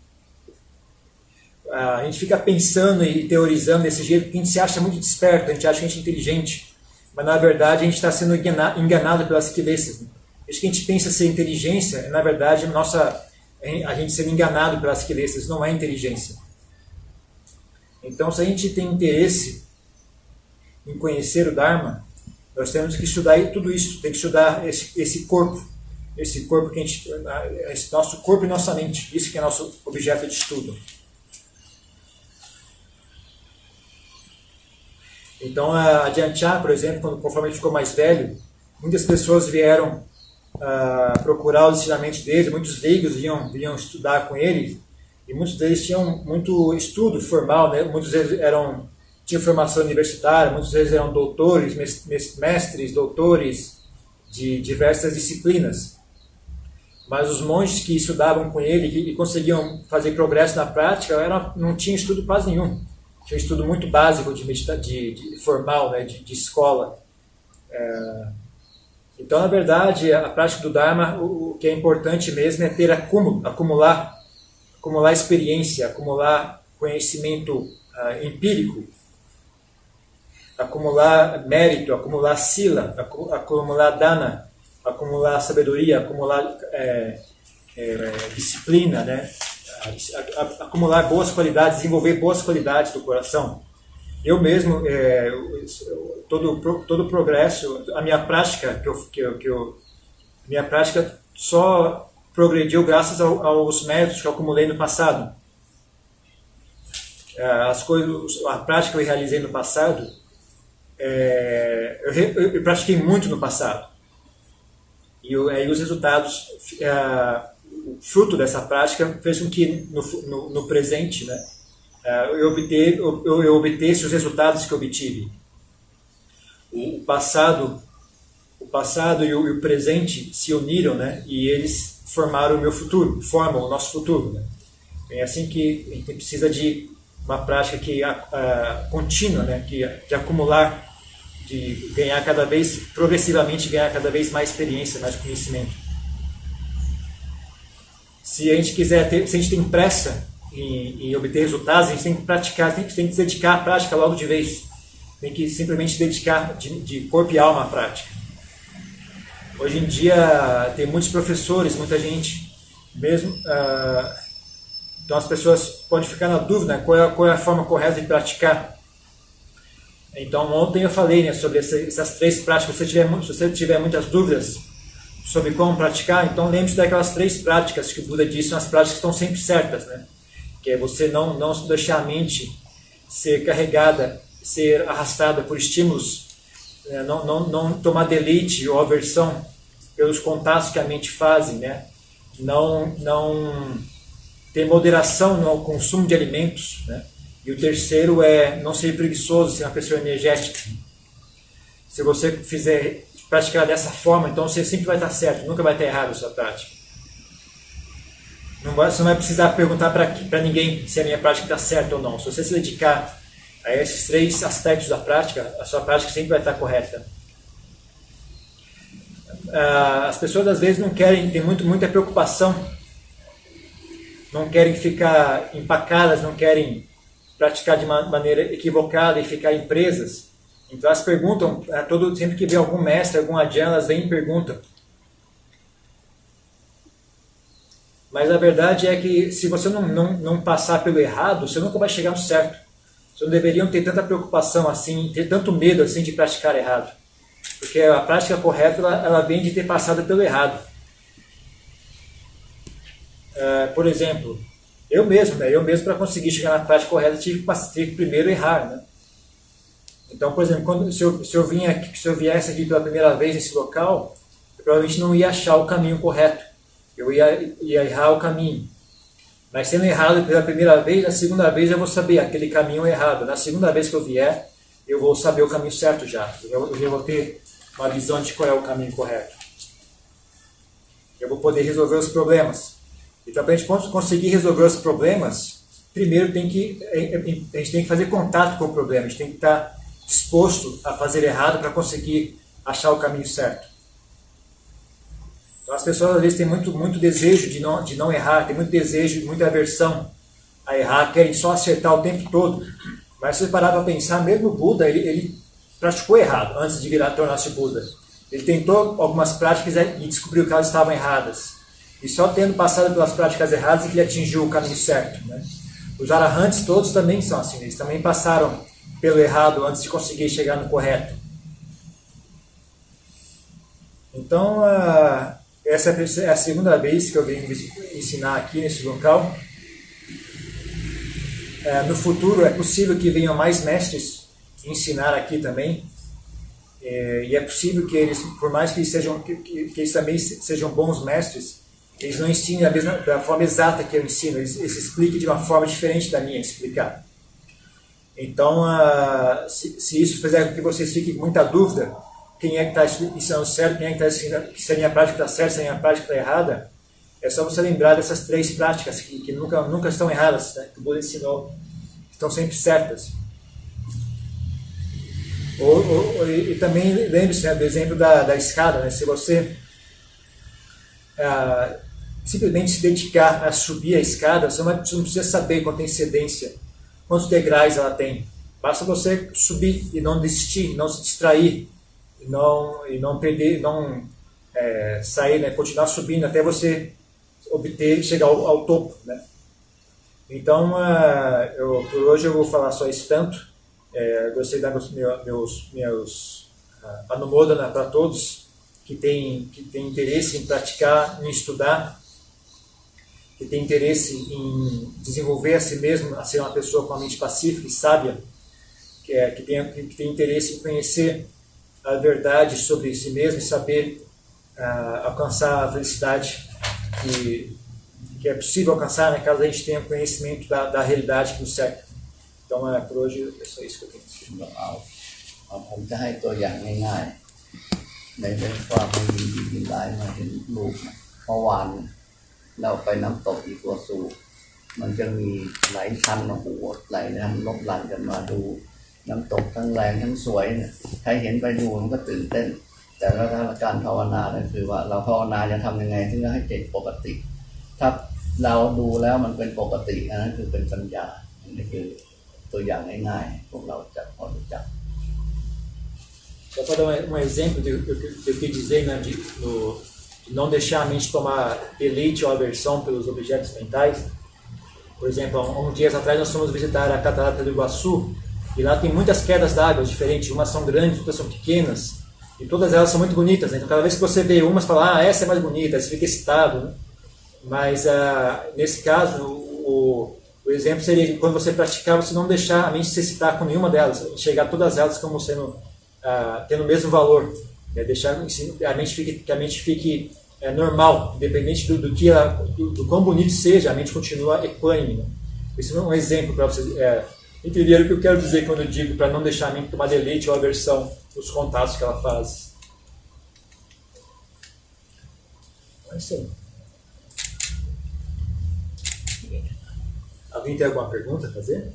A gente fica pensando e teorizando desse jeito porque a gente se acha muito desperto, a gente acha que a gente é inteligente, mas na verdade a gente está sendo enganado pelas cabeças. Né? Isso que a gente pensa ser inteligência, é na verdade nossa, a gente sendo enganado pelas cabeças, não é inteligência. Então, se a gente tem interesse em conhecer o Dharma, nós temos que estudar tudo isso, tem que estudar esse, esse corpo, esse corpo que a gente, esse nosso corpo e nossa mente, isso que é nosso objeto de estudo. Então, a Ajahn Chah, por exemplo, quando, conforme ele ficou mais velho, muitas pessoas vieram uh, procurar os ensinamentos dele, muitos leigos vinham, vinham estudar com ele, e muitos deles tinham muito estudo formal, né? Muitos deles eram, tinham formação universitária, muitos deles eram doutores, mestres, doutores de diversas disciplinas. Mas os monges que estudavam com ele e conseguiam fazer progresso na prática, eram, não tinham estudo quase nenhum. Tinha um estudo muito básico de, medita de, de formal, né, de, de escola. É, então, na verdade, a prática do Dharma, o, o que é importante mesmo é ter acúmulo, acumular, acumular experiência, acumular conhecimento uh, empírico, acumular mérito, acumular sila, acu acumular dana, acumular sabedoria, acumular é, é, disciplina, né? Acumular boas qualidades, desenvolver boas qualidades do coração. Eu mesmo, é, todo todo o progresso, a minha prática que eu, que eu, que eu minha prática só progrediu graças ao, aos méritos que eu acumulei no passado. As coisas, a prática que eu realizei no passado, é, eu, eu, eu pratiquei muito no passado. E, eu, e os resultados, é, o fruto dessa prática fez com que no, no, no presente, né, eu, obter, eu, eu obtesse os resultados que eu obtive. O passado, o passado e o, e o presente se uniram, né, e eles formaram o meu futuro, formam o nosso futuro. Né. É assim que a gente precisa de uma prática que, a, a, contínua, né, que, de acumular, de ganhar cada vez, progressivamente ganhar cada vez mais experiência, mais conhecimento. Se a gente quiser ter, se a gente tem pressa em, em obter resultados, a gente tem que praticar, tem que, tem que se dedicar à prática logo de vez. Tem que simplesmente se dedicar de, de corpo e alma à prática. Hoje em dia tem muitos professores, muita gente, mesmo, uh, então as pessoas podem ficar na dúvida, né, qual, é, qual é a forma correta de praticar. Então ontem eu falei, né, sobre essa, essas três práticas. Se você tiver, se você tiver muitas dúvidas sobre como praticar, então lembre-se daquelas três práticas que o Buda disse, são as práticas que estão sempre certas, né? Que é você não, não deixar a mente ser carregada, ser arrastada por estímulos, né? não, não, não tomar deleite ou aversão pelos contatos que a mente faz, né? Não, não ter moderação no consumo de alimentos, né? E o terceiro é não ser preguiçoso, ser uma pessoa energética. Se você fizer praticar dessa forma, então você sempre vai estar certo, nunca vai estar errado a sua prática. Não vai, você não vai precisar perguntar para ninguém se a minha prática está certa ou não. Se você se dedicar a esses três aspectos da prática, a sua prática sempre vai estar correta. As pessoas às vezes não querem, tem muito, muita preocupação, não querem ficar empacadas, não querem praticar de uma maneira equivocada e ficar em presas. Então elas perguntam, todo, sempre que vem algum mestre, algum adyan, elas vêm e perguntam: Mas a verdade é que se você não, não, não passar pelo errado, você nunca vai chegar no certo. Vocês não deveriam ter tanta preocupação assim, ter tanto medo assim de praticar errado. Porque a prática correta, ela, ela vem de ter passado pelo errado. Uh, por exemplo, eu mesmo, né, eu mesmo para conseguir chegar na prática correta tive que, tive que primeiro errar, né? Então, por exemplo, quando, se, eu, se, eu vinha aqui, se eu viesse aqui pela primeira vez nesse local, eu provavelmente não ia achar o caminho correto. Eu ia, ia errar o caminho. Mas sendo errado pela primeira vez, na segunda vez eu vou saber aquele caminho errado. Na segunda vez que eu vier, eu vou saber o caminho certo já. Eu, eu vou ter uma visão de qual é o caminho correto. Eu vou poder resolver os problemas. Então, para a gente conseguir resolver os problemas, primeiro tem que, a gente tem que fazer contato com o problema. A gente tem que estar disposto a fazer errado para conseguir achar o caminho certo. Então, as pessoas às vezes têm muito, muito desejo de não, de não errar, têm muito desejo, muita aversão a errar, querem só acertar o tempo todo. Mas se você parar para pensar, mesmo o Buda, ele, ele praticou errado antes de virar tornar-se Buda. Ele tentou algumas práticas e descobriu que elas estavam erradas. E só tendo passado pelas práticas erradas é que ele atingiu o caminho certo, né? Os arahantes todos também são assim, eles também passaram pelo errado antes de conseguir chegar no correto. Então, uh, essa é a segunda vez que eu venho ensinar aqui nesse local. Uh, no futuro é possível que venham mais mestres ensinar aqui também. Uh, e é possível que eles, por mais que eles, sejam, que, que eles também sejam bons mestres, eles não ensinem da, mesma, da forma exata que eu ensino, eles, eles expliquem de uma forma diferente da minha explicar. Então, uh, se, se isso fizer com que vocês fiquem com muita dúvida, quem é que está ensinando certo, quem é que está ensinando, se a minha prática está certa, se a minha prática está errada, é só você lembrar dessas três práticas que, que nunca, nunca estão erradas, né? Que o Buda ensinou, estão sempre certas. Ou, ou, e, e também lembre-se, né, do exemplo da, da escada, né? Se você uh, simplesmente se dedicar a subir a escada, você não, você não precisa saber com antecedência quantos degraus ela tem. Basta você subir e não desistir, não se distrair, e não, e não perder, não é, sair, né, continuar subindo até você obter, chegar ao, ao topo, né? Então, uh, eu, por hoje eu vou falar só isso tanto. É, gostei de dar meus, meus, meus uh, anumodana para todos que têm que tem interesse em praticar, em estudar, que tem interesse em desenvolver a si mesmo, a ser uma pessoa com a mente pacífica e sábia, que, é, que, tem, que tem interesse em conhecer a verdade sobre si mesmo e saber uh, alcançar a felicidade que, que é possível alcançar, né, caso a gente tenha conhecimento da, da realidade que nos cerca. Então, uh, por hoje, é só isso que eu tenho. ผมจะให้ตัวอย่างง่ายๆในเรื่องความไม่มีดีมีร้ายมาเห็นลูกเมื่อวานเราไปน้ำตกอีกัวซูมันจะมีหลายชั้นโอ้โหไหลน้ำลบหลั่นกันมาดูน้ำตกทั้งแรงทั้งสวยเนี่ยใครเห็นไปดูมันก็ตื่นเต้นแต่ว่าถ้าการภาวนาเนี่ยคือว่าเราภาวนาจะทำยังไงถึงจะให้จิตปกติถ้าเราดูแล้วมันเป็นปกติอันนั้นคือเป็นปัญญาอันนี้คือตัวอย่างง่ายๆพวกเราจะพอรู้จัก Só para dar um exemplo do que eu quis dizer, né, de, no, de não deixar a mente tomar deleite ou aversão pelos objetos mentais. Por exemplo, há uns dias atrás nós fomos visitar a Catarata do Iguaçu e lá tem muitas quedas d'água diferentes, umas são grandes, outras são pequenas e todas elas são muito bonitas, né? Então cada vez que você vê umas, fala, ah, essa é mais bonita, você fica excitado, né? Mas ah, nesse caso, o, o exemplo seria que quando você praticar, você não deixar a mente se excitar com nenhuma delas, enxergar todas elas como sendo Uh, tendo o mesmo valor, né? Deixar que a mente fique, que a mente fique é, normal, independente do, do que ela, do, do quão bonito seja, a mente continua equânime. Né? Isso é um exemplo para vocês é, entenderem o que eu quero dizer quando eu digo para não deixar a mente tomar deleite ou aversão nos contatos que ela faz. É isso aí. Alguém tem alguma pergunta a fazer?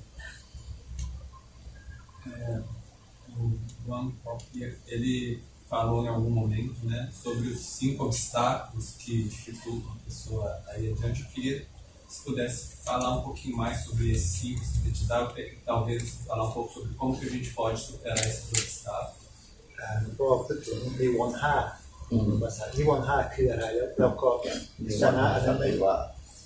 É... O Juan ele falou em algum momento, né, sobre os cinco obstáculos que dificultam a pessoa a ir adiante. Eu queria, se pudesse falar um pouquinho mais sobre esses cinco, sintetizar, talvez falar um pouco sobre como que a gente pode superar esses obstáculos. ก็พูดถึงนิวรณ์ห้าภาษานิวรณ์ห้าคืออะไรแล้วเราก็ชนะอะไรหรือว่า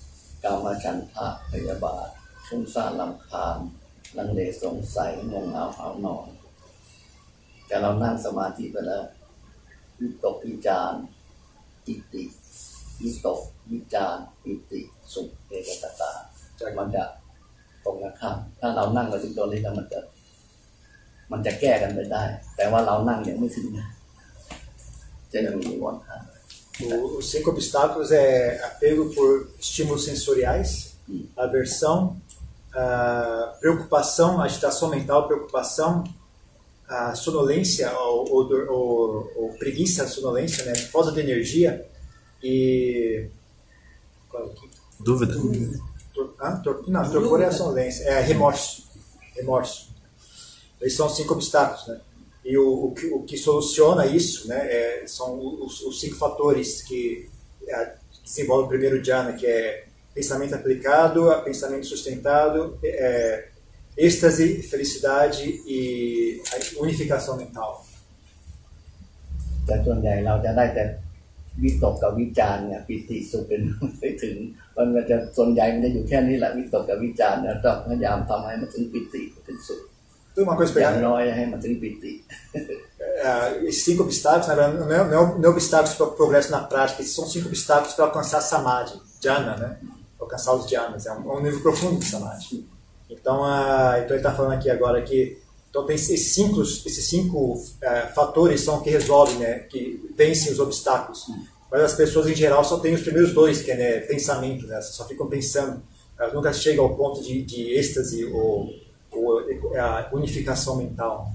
กามฉันทะพยาบาทฟุ้งซ่านรำคาญลังเลสงสัยงงเหงาหาวนอนแต่เรานั่งสมาธิไปแล้ววิตกวิจารปิติวิตกวิจารปิติสุขเอกตาจากมันจะตรงกันข้ามถ้าเรานั่งมาถึงตรงนี้แล้วมันจะมันจะแก้กันไปได้แต่ว่าเรานั่งยังไม่ถึงนะจะยังมีวันข้าง Os cinco obstáculos é apego por estímulos sensoriais, hum. aversão, a preocupação, agitação mental, preocupação, a sonolência ou, ou, ou, ou preguiça, sonolência, né? Falta de energia e... Qual é o quinto? Dúvida. Dúvida. Tor, ah, tor, não, torpor é a sonolência, é remorso. Remorso. Esses são os cinco obstáculos, né? E o, o, que, o que soluciona isso, né, é, são os, os cinco fatores que é, desenvolvem o primeiro dhyana, que é pensamento aplicado, pensamento sustentado, é, êxtase, felicidade e a unificação mental. แต่ส่วนใหญ่เราจะได้แต่วิตกกับวิจารเนี่ยปิติสุขเป็นไม่ถึงมันจะส่วนใหญ่มันจะอยู่แค่นี้แหละวิตกกับวิจารเนี่ยต้องพยายามทำให้มันถึงปิติถึงสุข Uma coisa pegar. Esses cinco obstáculos, na verdade, não é, não é, não é obstáculos para o progresso na prática, esses são cinco obstáculos para alcançar samadhi, dhyana, né? Alcançar os dhyanas, é um, é um nível profundo de samadhi. Então, uh, então ele está falando aqui agora que então tem esses cinco, esses cinco uh, fatores são que resolvem, né? Que vencem os obstáculos. Mas as pessoas em geral só têm os primeiros dois, que é né, pensamento, né? Só ficam pensando, elas nunca chegam ao ponto de, de êxtase ou a unificação mental.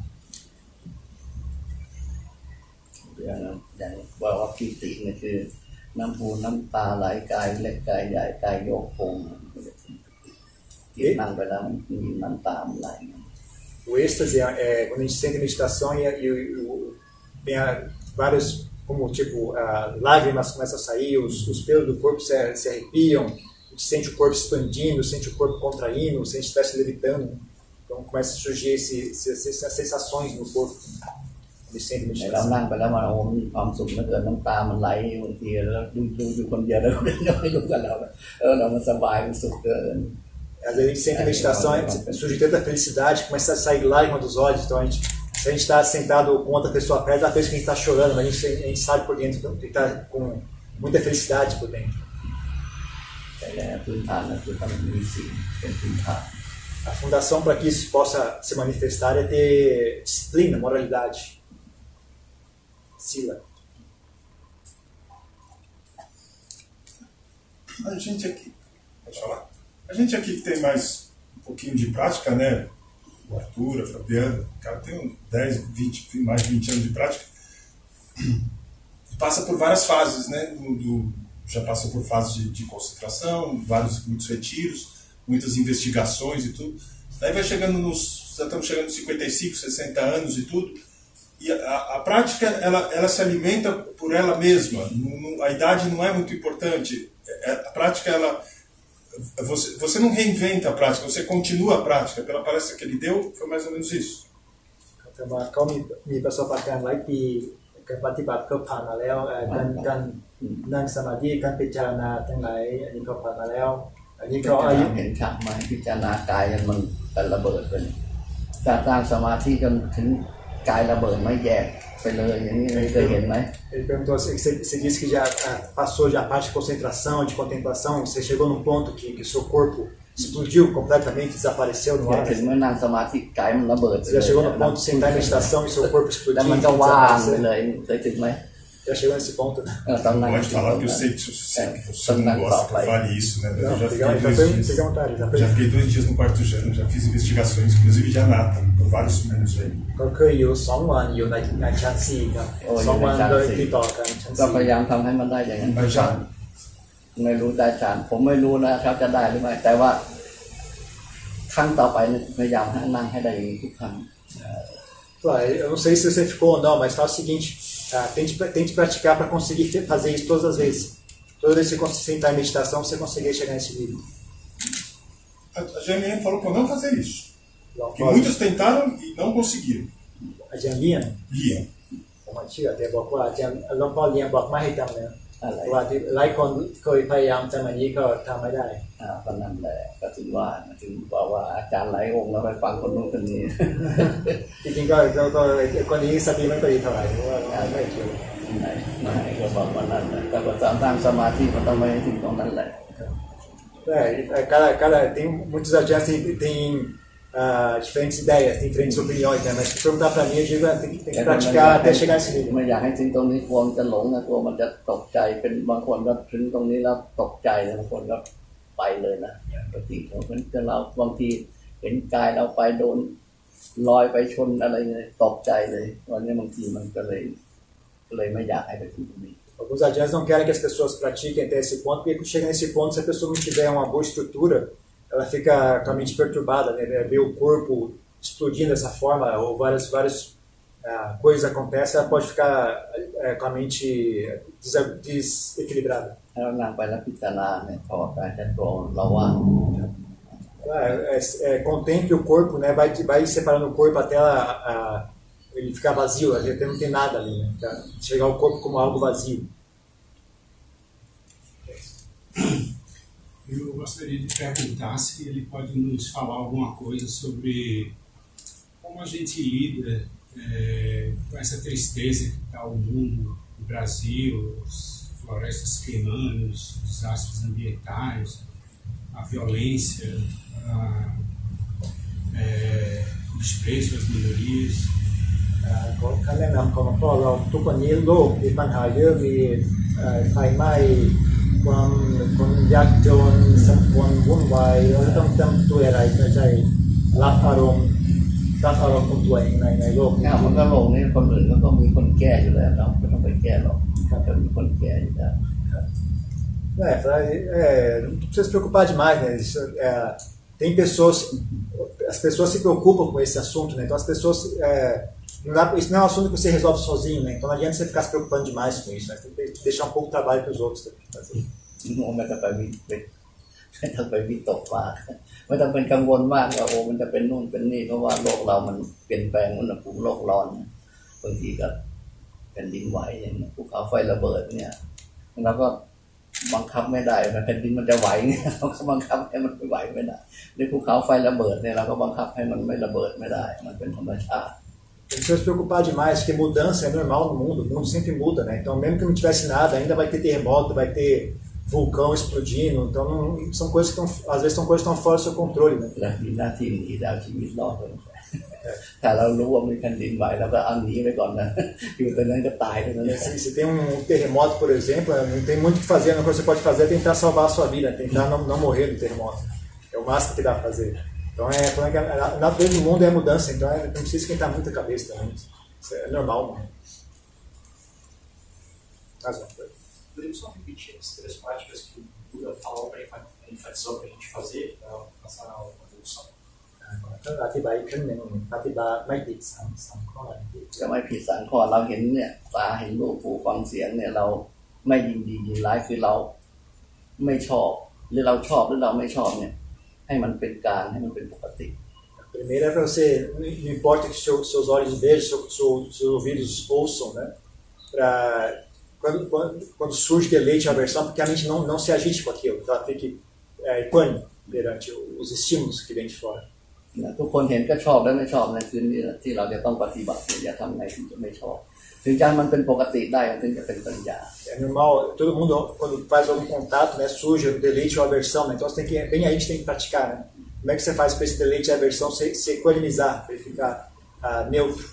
อย่างว่าว่าปิติเนี่ยคือน้ำหูน้ำตาไหลกายเล็กกายใหญ่กายโยกโคงที่นั่งไปแล้วมันมีน้ำตาไหล O êxtase é, é quando a gente sente meditação e, e, e tem vários como tipo uh, lágrimas começam a sair, os, os pelos do corpo se, se arrepiam, a gente sente o corpo expandindo, sente o corpo contraindo, se a gente estivesse levitando. Então começa a surgir esse, esse, essas sensações no corpo de sempre meditação. เรานั่งไปแล้วมันโอ้มีความสุขเหลือเกินน้ำตามันไหลบางทีแล้วดูดูอยู่คนเดียวแล้วไม่รู้กันเราเออเรามันสบายมันสุขเกิน Às vezes a gente sente a meditação, surge tanta felicidade, começa a sair lágrima dos olhos. Então a gente, se a gente está sentado com outra pessoa perto, ela pensa que a gente está chorando, mas a gente, a gente sabe por dentro que está com muita felicidade por dentro. แต่พื้นฐานนั่นคือต้องมีสิ่งเป็นพื้นฐาน A fundação para que isso possa se manifestar é ter disciplina, moralidade. Sila. A gente aqui, pode falar? A gente aqui que tem mais um pouquinho de prática, né? O Arthur, a Fabiana, o cara tem uns dez, vinte, mais de vinte anos de prática. Passa por várias fases, né? Do, do, já passou por fases de, de concentração, vários, muitos retiros, muitas investigações e tudo. Daí vai chegando nos, já estamos chegando nos cinquenta e cinco, sessenta anos e tudo. E a, a prática, ela, ela se alimenta por ela mesma. Não, não, a idade não é muito importante. A prática, ela, você, você não reinventa a prática, você continua a prática. Pela palestra que ele deu, foi mais ou menos isso. เขามีมีประสบการณ์หลายปีการปฏิบัติเขาผ่านมาแล้วการการนั่งสมาธิการพิจารณาทั้งหลายอันนี้เขาผ่านมาแล้วอันนี้เขาอายุเห็นชัดไหมพิจารณากายมันเป็นระเบิดไปการตั้งสมาธิจนถึงกายระเบิดไม่แยกไปเลยอย่างนี้เคยเห็นไหม Ele perguntou assim, você, você disse que já passou já a parte de concentração, de contemplação, você chegou num ponto que que seu corpo explodiu completamente, desapareceu no ar. ถึงเมื่อนั่งสมาธิกายมันระเบิด Você já chegou no ponto de sentar em meditação e seu corpo แล้ว explodiu มัน e ก็ว่างไป desaparecer? เลยเคยถึงไหม Já chegou nesse ponto? Pode falar que eu sei que você não gosta que eu fale isso, né? Eu já fiquei dois dias, já fiquei dois dias no quarto Jana, já fiz investigações, inclusive de Anatta, por vários mundos aí. ก็เคยอยู่สองวันอยู่ในในชั้นสี่ครับสองวันโดยติดต่อกันชั้นก็สี่พยายามทำให้มันได้อย่างนั้นไม่รู้ได้ฌานผมไม่รู้นะครับจะได้หรือไม่แต่ว่าครั้งต่อไปพยายามให้นั่งให้ได้อย่างนี้ทุกครั้ง Eu não sei se você ficou ou não, mas fala o seguinte, ah, tente, tente praticar para conseguir fazer isso todas as vezes. Toda vez que você sentar em meditação, você conseguir chegar nesse nível. A Janine falou para não fazer isso. Que muitos tentaram e não conseguiram. A Janine? Liam. ผมเชื่อแต่บอกว่าอาจารย์หลวงพ่อเลี้ยงบอกไม่ให้ทำนะอะไรเพราะว่าที่หลายคนเคยพยายามทำอันนี้ก็ทำไม่ได้อ่าก็นั่นแหละก็ถึงว่าถึงบอกว่าอาจารย์หลายองค์แล้วไปฟังคนนู้นคนนี้จริงๆก็ก็ก็คนนี้สติไม่ค่อยดีเท่าไหร่เพราะว่าไม่เกี่ยวไหนไม่ก็บอกว่านั่นแหละแต่ว่าสร้างสมาธิมันต้องไปถึงตรงนั้นแหละ É, cada, cada, tem muitos adiantes tem, tem uh, diferentes ideias, tem diferentes opiniões, né? Mas se perguntar para mim, eu digo, tem, tem que praticar até chegar nesse nível. ไม่อยากให้ถึงตรงนี้กลัวมันจะหลงนะกลัวมันจะตกใจเป็นบางคนก็ถึงตรงนี้แล้วตกใจบางคนก็ไปเลยนะบางทีเราเป็นเราบางทีเห็นกายเราไปโดนลอยไปชนอะไรเลยตกใจเลยวันนี้บางทีมันก็เลยก็เลยไม่อยากให้ไปถึงตรงนี้ Alguns adiantes não querem que as pessoas pratiquem até esse ponto, porque quando chega nesse ponto, se a pessoa não tiver uma boa estrutura, ela fica com a mente perturbada, né? Ver o corpo explodindo dessa forma, ou várias, várias uh, coisas acontecem, ela pode ficar uh, com a mente des- desequilibrada. É, é, é, contemple o corpo, né? vai, vai separando o corpo até ela, a, ele ficar vazio, até não tem nada ali, né? Chegar o corpo como algo vazio. Eu gostaria de perguntar se ele pode nos falar alguma coisa sobre como a gente lida é, com essa tristeza que está o mundo, o Brasil, as florestas queimando, os desastres ambientais, a violência, a, é, o desprezo às minorias. คำแนะนำของพ่อเราทุกวันนี้โลกมีปัญหาเยอะมีไฟไหม้ความคนยากจนสังคมวุ่นวายเราต้องทำตัวอะไรเพื่อจะรับอารมณ์รับอารมณ์ของตัวเองในในโลกนี้มันก็โลกนี้คนอื่นก็ต้องมีคนแก้อยู่แล้วเราไม่ต้องไปแก้หรอกก็มีคนแก้อยู่แล้ว É, é, não precisa se preocupar demais, né? Isso, é, tem pessoas, as pessoas se preocupam com esse assunto, né? Então as pessoas, é, não dá, isso não é um assunto que você resolve sozinho, né? Então não adianta você ficar se preocupando demais com isso, né? Tem que deixar um pouco de trabalho para os outros fazer. ไม่ต้องไปวิไม่ต้องไปวิตกมากไม่ต้องเป็นกังวลมากว่าโอ้มันจะเป็นนู่นเป็นนี่เพราะว่าโลกเรามันเปลี่ยนแปลงอุณหภูมิโลกร้อนบางทีก็แผ่นดินไหวอย่างนี้ภูเขาไฟระเบิดเนี่ยเราก็บังคับไม่ได้แผ่นดินมันจะไหวเนี่ยเราก็บังคับให้มันไม่ไหวไม่ได้ในภูเขาไฟระเบิดเนี่ยเราก็บังคับให้มันไม่ระเบิดไม่ได้มันเป็นธรรมชาติ Não precisa se preocupar demais, porque mudança é normal no mundo, o mundo sempre muda, né? Então mesmo que não tivesse nada, ainda vai ter terremoto, vai ter vulcão explodindo, então não, são coisas que estão, às vezes são coisas que estão fora do seu controle, né? และมีหน้าที่หนีดาวชีวิตรอดเลยถ้าเรารู้ว่ามีแผ่นดินไหวเราก็เอาหนีไปก่อนนะอยู่ตรงนั้นก็ตายตรงนั้นเลย Se, se tem um terremoto, por exemplo, não tem muito o que fazer, a única coisa que você pode fazer é tentar salvar a sua vida, tentar não, não morrer do terremoto. É o máximo que dá para fazer. Então, é, a natureza do mundo é mudança, então é, não precisa esquentar muito a cabeça também. Isso é normal, mano. Poderia só repetir as três práticas que o Buda falou para enfatizar para a gente fazer para alcançar a evolução? ก็อธิบายอีกครั้งหนึ่งปฏิบัติไม่ผิดสามสามข้อจะไม่ผิดสามข้อเราเห็นเนี่ยตาเห็นรูปหูฟังเสียงเนี่ยเราไม่ยินดียินร้ายคือเราไม่ชอบหรือเราชอบหรือเราไม่ชอบเนี่ยให้มันเป็นกลางให้มันเป็นปกติ Primeiro é para você, não importa que seu, seus olhos vejam, seu, seu, seus ouvidos ouçam, né? Para quando, quando, quando surge deleite e aversão, porque a mente não, não se agite com aquilo, que ela fique é, equânime perante os estímulos que vêm de fora. ทุกคนเห็นก็ชอบและไม่ชอบนั่นคือนี่ที่เราจะต้องปฏิบัติอย่าทำไงถึงจะไม่ชอบถึงจะมันเป็นปกติได้ถึงจะเป็นปัญญา É normal, todo mundo quando faz algum contato, né, surge o deleite ou aversão, né? Então você tem que, bem aí que você tem que praticar, né? Como é que você faz para esse deleite e aversão se, se equanimizar, para ele ficar uh, neutro?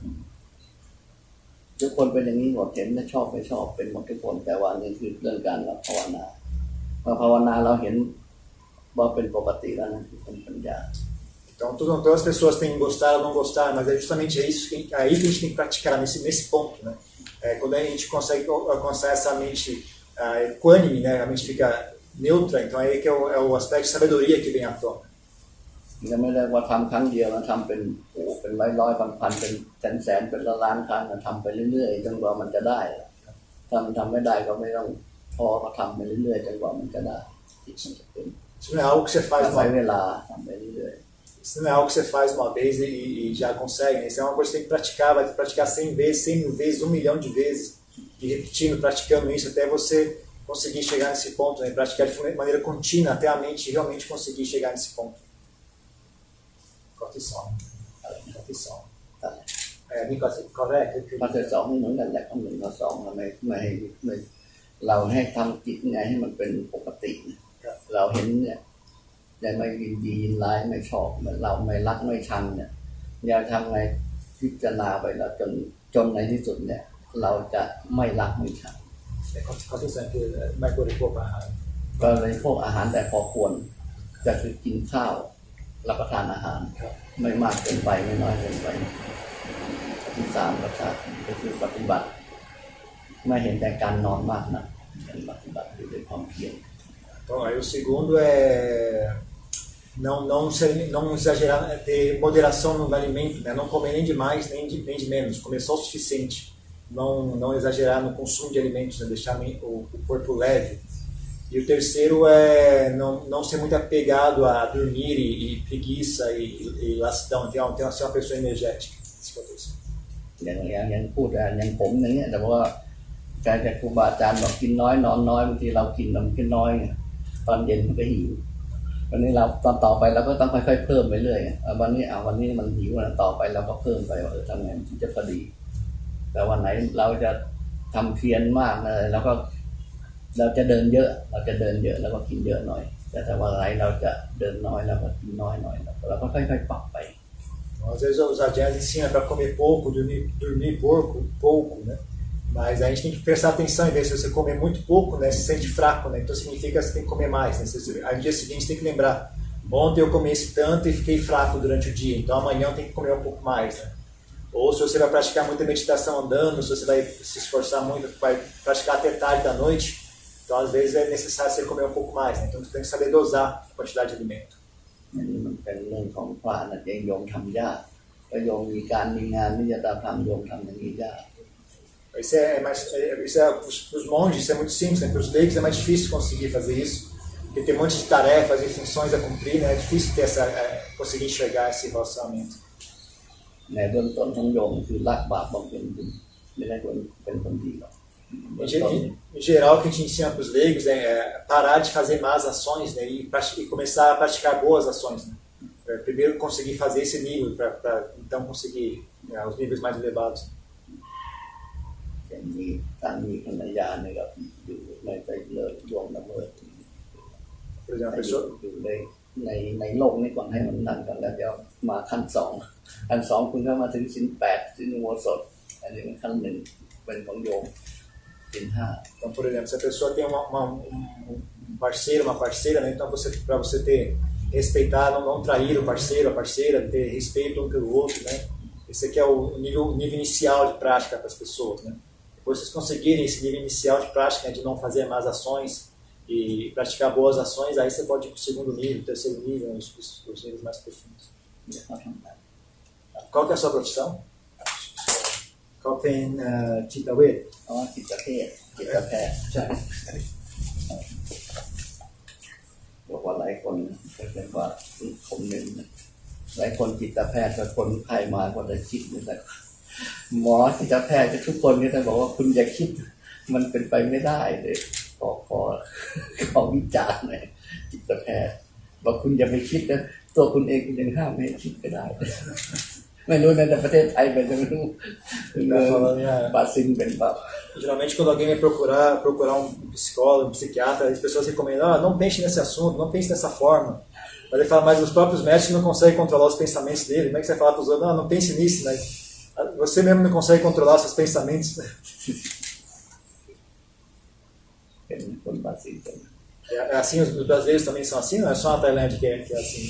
ทุกคนเป็นอย่างนี้หมดเห็นไม่ชอบไม่ชอบเป็นหมดทุกคนแต่ว่านี่คือเรื่องการเราภาวนาพอภาวนาเราเห็นว่าเป็นปกติแล้วนั่นคือเป็นปัญญา Então, todas as pessoas têm que gostar ou não gostar, mas é justamente isso que, aí que a gente tem que praticar nesse, nesse ponto, né? É, quando a gente consegue alcançar essa mente uh, equânime, né? A mente fica neutra, então aí que é o, é o aspecto de sabedoria que vem à tona. ยังไม่ได้ว่าทำครั้งเดียวนะทำเป็นโอ้เป็นร้อยร้อยพันพันเป็นแสนแสนเป็นล้านล้านครั้งนะทำไปเรื่อยๆจนกว่ามันจะได้ถ้ามันทำไม่ได้ก็ไม่ต้องพอก็ทำไปเรื่อยๆจนกว่ามันจะได้ที่มันจะเป็น Isso não é algo que você faz uma เวลาทำไปเรื่อย Isso não é algo que você faz uma vez e, e já consegue, né? Isso é uma coisa que você tem que praticar, vai praticar cem vezes, cem mil vezes, um milhão de vezes, e repetindo, praticando isso até você conseguir chegar nesse ponto, né? Praticar de maneira contínua até a mente realmente conseguir chegar nesse ponto. Cortição. Cortição. É,นี่ข้อแรกคือข้อที่สองนี่เหมือนกันแหละข้อหนึ่งข้อสองไม่ไม่ให้ไม่เราให้ทำจิตไงให้มันเป็นปกติเราเห็นเนี่ยยังไม่ยินดียินร้ายไม่ชอบเหมือนเราไม่รักไม่ชังเนี่ยอย่าทำไงพิจารณาไปแล้วจนจนในที่สุดเนี่ยเราจะไม่รักไม่ชังข้อที่สองคือไม่บริโภคอาหารก็เลยพวกอาหารแต่พอควรจะคือกินข้าวรับประทานอาหารไม่มากเกินไปไม่น้อยเกินไปที่สามก็คือปฏิบัติไม่เห็นแต่การนอนมากนะเป็นปฏิบัติด้วยความเพียร Então, aí o segundo é não, não, ser, não exagerar, ter moderação no alimento, né? Não comer nem de mais nem de, nem de menos, comer só o suficiente, não, não exagerar no consumo de alimentos, né? Deixar o, o corpo leve. E o terceiro é não, não ser muito apegado a dormir e, e preguiça e, e, e lassidão, ter, ter ser uma pessoa energética. Isso. อย่างอย่างอย่างพูดอย่างผมอย่างเงี้ยแต่ว่าการจากครูบาอาจารย์บอกกินน้อยนอนน้อยบางทีเรากินมันกินน้อยตอนเย็นมันก็หิววันนี้เราตอนต่อไปเราก็ต้องค่อยๆเพิ่มไปเรื่อยวันนี้อ่ะวันนี้มันหิวนะต่อไปเราก็เพิ่มไปว่าเออทำไงถึงจะพอดีแต่วันไหนเราจะทำเพียรมากเลยแล้วก็เราจะเดินเยอะเราจะเดินเยอะแล้วก็กินเยอะหน่อยแต่ถ้าวันไหนเราจะเดินน้อยแล้วก็กินน้อยหน่อยเราก็ค่อยๆปรับไป Às vezes os adjuntos ensinam para comer pouco, dormir, dormir pouco, pouco, né? Mas a gente tem que prestar atenção em ver se você comer muito pouco, né? Se sente fraco, né? Então significa que você tem que comer mais, né? Aí no dia seguinte você tem que lembrar, ontem eu comi esse tanto e fiquei fraco durante o dia, então amanhã eu tenho que comer um pouco mais, né? Ou se você vai praticar muita meditação andando, se você vai se esforçar muito, vai praticar até tarde da noite, então às vezes é necessário você comer um pouco mais, né? Então você tem que saber dosar a quantidade de alimento. อันนี้มันเป็นเรื่องของพระนะเองโยมทำยากก็โยมมีการมีงานนี่จะตามทำโยมทำอย่างนี้ยาก Isso é mais, isso é para os monges isso é muito simples, né? Para os leigos é mais difícil conseguir fazer isso, porque tem um monte de tarefas e funções a cumprir, né? É difícil ter essa, é, conseguir enxergar esse relacionamento. ในเบื้องต้นของโยมคือละบาปบำเพ็ญบุญไม่ได้คนเป็นคนดีหรอก Em geral, o que a gente ensina para os leigos é parar de fazer más ações, né, e, e começar a praticar boas ações. Né? Primeiro conseguir fazer esse nível, para então conseguir né, os níveis mais elevados. Por exemplo, a pessoa... ในในโลกนี้ก่อนให้มันนั่นกันแล้วเดี๋ยวมาขั้นสองขั้นสองคุณก็มาถึงศีลแปดศีลอุโบสถอันนี้เป็นขั้นหนึ่งเป็นของโยม Então, por exemplo, se a pessoa tem uma, uma, um parceiro, uma parceira, né? Então você, para você ter, respeitar, não, não trair o parceiro, a parceira, ter respeito um pelo outro, né? Esse aqui é o nível, nível inicial de prática para as pessoas, né? Depois vocês conseguirem esse nível inicial de prática, né? De não fazer más ações e praticar boas ações, aí você pode ir para o segundo nível, terceiro nível, os, os, os níveis mais profundos. Qual que é a sua profissão? Qual tem uh, Tita Wade? อ๋อจิตแพทย์จิตแพทย์ใช่บอกว่าหลายคนก็เรียกว่าผมหนึ่งหลายคนจิตแพทย์กับคนไข้มาก็จะคิดเหมือนกันหมอจิตแพทย์ทุกคนก็จะบอกว่าคุณอย่าคิดมันเป็นไปไม่ได้เลยขอขอขอวิจารณ์หน่อยจิตแพทย์บอกคุณอย่าไปคิดนะตัวคุณเองคุณยังห้ามไม่ให้คิดก็ได้ไม่รู้ในประเทศไทยเป็นไม่รู้บาซินเป็นแบบ Geralmente quando alguém vai procurar procurar um psicólogo, um psiquiatra, as pessoas recomendam, ah, não pense nesse assunto, não pense dessa forma. Mas ele fala, mas os próprios médicos não conseguem controlar os pensamentos dele. Como é que você vai falar para os outros, não, não pense nisso, mas você mesmo não consegue controlar seus pensamentos. เป็นคนบาซิน É assim, os brasileiros também são assim, não é só na Tailândia que é, que é assim.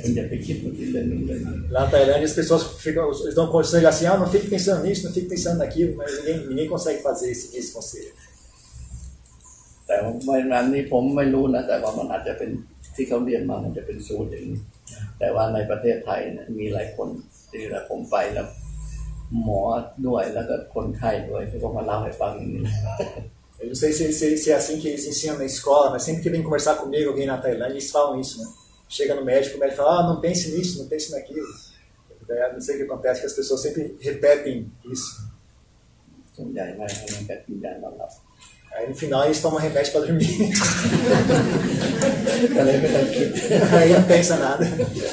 Lá na Tailândia as pessoas ficam, eles dão conselho assim, ah, não fique pensando nisso, não fique pensando naquilo, mas ninguém, ninguém consegue fazer esse, esse conselho. แต่ว่าอันนี้ผมไม่รู้นะแต่ว่ามันอาจจะเป็นที่เขาเรียนมามันจะเป็นสูตรอย่างนี้แต่ว่าในประเทศไทยเนี่ยมีหลายคนที่ผมไปแล้วหมอด้วยแล้วก็คนไข้ด้วยที่เขามาเล่าให้ฟังอย่างนี้ Eu não sei se, se, se é assim que eles ensinam na escola, mas sempre que vem conversar comigo alguém na Tailândia, eles falam isso, né? Chega no médico, o médico fala, ah, não pense nisso, não pense naquilo. Não sei o que acontece, que as pessoas sempre repetem isso. สส่วนใหญ่ไม่ให้มันก็กินยานอนหลับ Aí no final eles tomam remédio para dormir. ก็เลยไม่ต้องคิด Aí não pensa nada.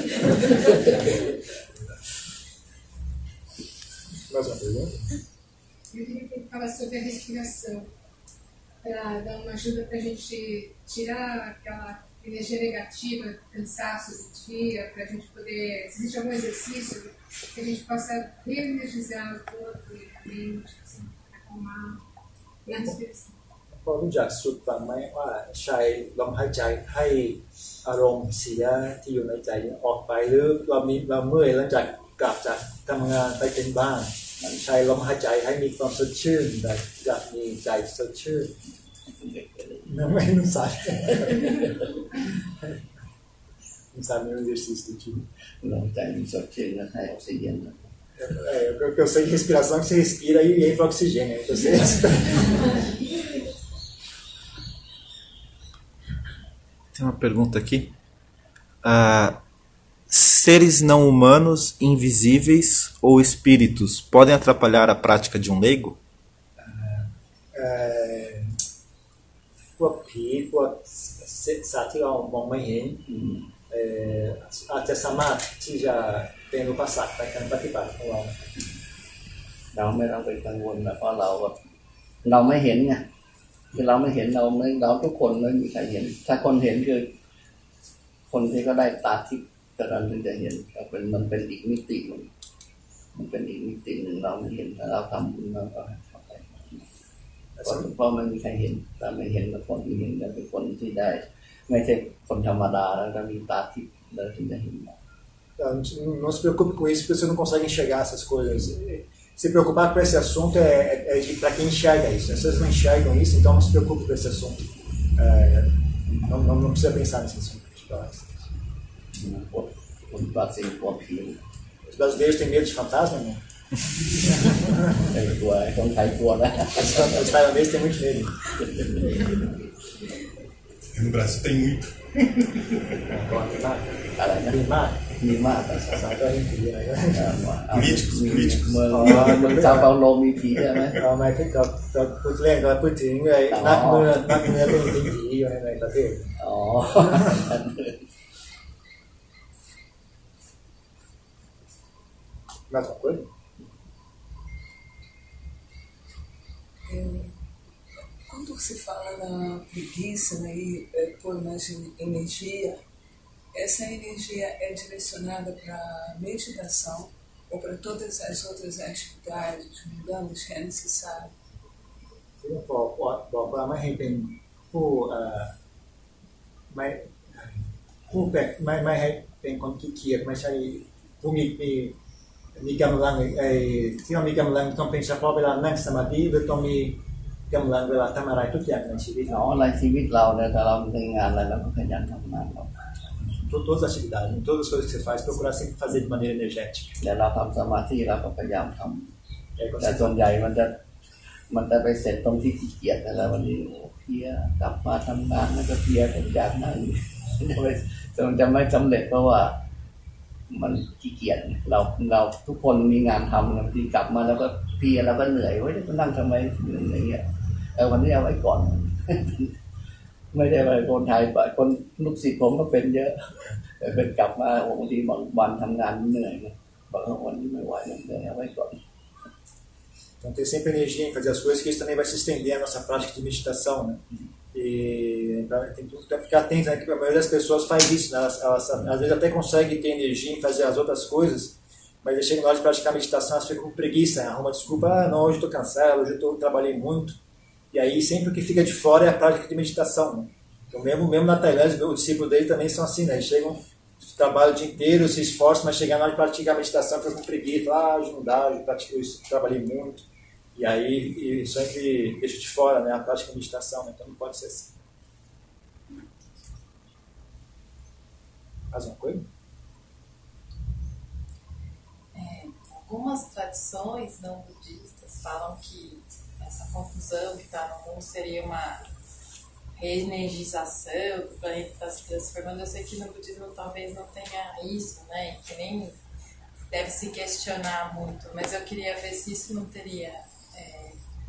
Mais uma pergunta? Eu queria falar sobre a respiração, para dar uma ajuda para a gente tirar aquela energia negativa, cansaço do dia, para a gente poder, se existe algum exercício, que a gente possa reenergizar o corpo e a mente, assim, acalmar na respiração. พอรู้จักสุดบ้างไหมว่าใช้ลมหายใจให้อารมณ์เสียที่อยู่ในใจออกไปหรือเรามีเราเมื่อยหลังจากกลับจากทำงานไปเป็นบ้านใช้ลมหายใจให้มีความสดชื่นแต่อยากมีใจสดชื่นnão é não sabe não sabe nenhum exercício do tipo ลมใจมันสดชื่นแล้วให้ออกซิเจน é, eu, eu sei de respiração que você respira e entra oxigênio então você Tem uma pergunta aqui. Ah, seres não humanos, invisíveis ou espíritos podem atrapalhar a prática de um leigo? พวกผีพวกสัตว์ที่เรามองไม่เห็นอาจจะสามารถที่จะเป็นอุปสรรคในการปฏิบัติของเราเราไม่ต้องไปกังวลนะเพราะเราแบบเราไม่เห็นไงคือเราไม่เห็นเราไม่เราทุกคนไม่มีใครเห็นถ้าคนเห็นคือคนที่ก็ได้ตาทิพย์แต่เราถึงจะเห็นก็เป็นมันเป็นอีกมิติหนึ่งมันเป็นอีกมิติหนึ่งเราไม่เห็นถ้าเราทำบุญเราก็เข้าไปเพราะไม่มีใครเห็นแต่ไม่เห็นแต่คนที่เห็นก็เป็นคนที่ได้ไม่ใช่คนธรรมดาแล้วก็มีตาทิพย์เราถึงจะเห็น Não se preocupe com isso, porque você não consegue enxergar essas coisas. Se preocupar com esse assunto é, é, é para quem enxerga isso. As pessoas não enxergam isso, então não se preocupe com esse assunto. É, não, não, não precisa pensar nesse assunto. Os brasileiros têm medo de fantasma, não? Os tailandeses têm muito medo. No Brasil tem muito. Políticos, políticos. เมืองเมืองซาเปาโลมีผีใช่ไหมเราไม่พูดกับพูดเล่นก็พูดถึงเลยนักเมืองนักเมืองเป็นผีอยู่ในประเทศอ๋อ Mais uma coisa? Quando se fala na preguiça, né, e é, por mais energia, essa energia é direcionada para meditação ou para todas as outras atividades mundanas que é necessário? บอกบอกว่าไม่ให้เป็นผู้ไม่ผู้แปลกไม่ไม่ให้เป็นคนขี้เกียจไม่ใช่ผู้มีมีมีกำลังไอ้ที่เรามีกำลังต้องเป็นเฉพาะเวลานั่งสมาธิหรือต้องมีกำลังเวลาทำอะไรทุกอย่างในชีวิตเราในชีวิตเราเนี่ยถ้าเราทำงานอะไรเราก็ขยันทำงานเรา todas as atividades, em todas as coisas que você faz, procurar sempre fazer de maneira energética. แต่เราทำสมาธิเราก็พยายามทำแต่ส่วนใหญ่มันจะมันจะไปเสร็จตรงที่ขี้เกียจแล้ววันนี้เพียกลับมาทำงานแล้วก็เพียผมอยากนั่งจะมันจะไม่สำเร็จเพราะว่ามันขี้เกียจเราเราทุกคนมีงานทำบางทีกลับมาแล้วก็เพียแล้วก็เหนื่อยไว้จะนั่งทำไมอย่างเงี้ยเออวันนี้เอาไว้ก่อนไม่ได้ไปคนไทยไปคนลูกศิษย์ผมก็เป็นเยอะแต่เป็นกลับมาบางทีบางวันทำงานเหนื่อยบางวันนี้ไม่ไหวเลยเอาไว้ก่อน Então ter sempre energia em fazer as coisas, que isso também vai se estender a nossa prática de meditação, né? E então, tem que ficar atento, né? Que a maioria das pessoas faz isso, né? Elas, elas às vezes até conseguem ter energia em fazer as outras coisas, mas chega na hora de praticar meditação, elas ficam com preguiça, né? Arruma desculpa, ah, não, hoje estou cansado, hoje eu trabalhei muito. E aí sempre o que fica de fora é a prática de meditação, né? Então mesmo, mesmo na Tailândia, os discípulos dele também são assim, né? Eles chegam, trabalham o dia inteiro, se esforçam, mas chegar na hora de praticar a meditação, ficam com preguiça, ah, hoje não dá, hoje eu trabalhei muito. E aí e sempre deixa de fora, né, a prática de meditação, né? Então não pode ser assim. Mais uma coisa? É, algumas tradições não budistas falam que essa confusão que está no mundo seria uma reenergização, o planeta está se transformando. Eu sei que no budismo talvez não tenha isso, né? Que nem deve se questionar muito, mas eu queria ver se isso não teria é,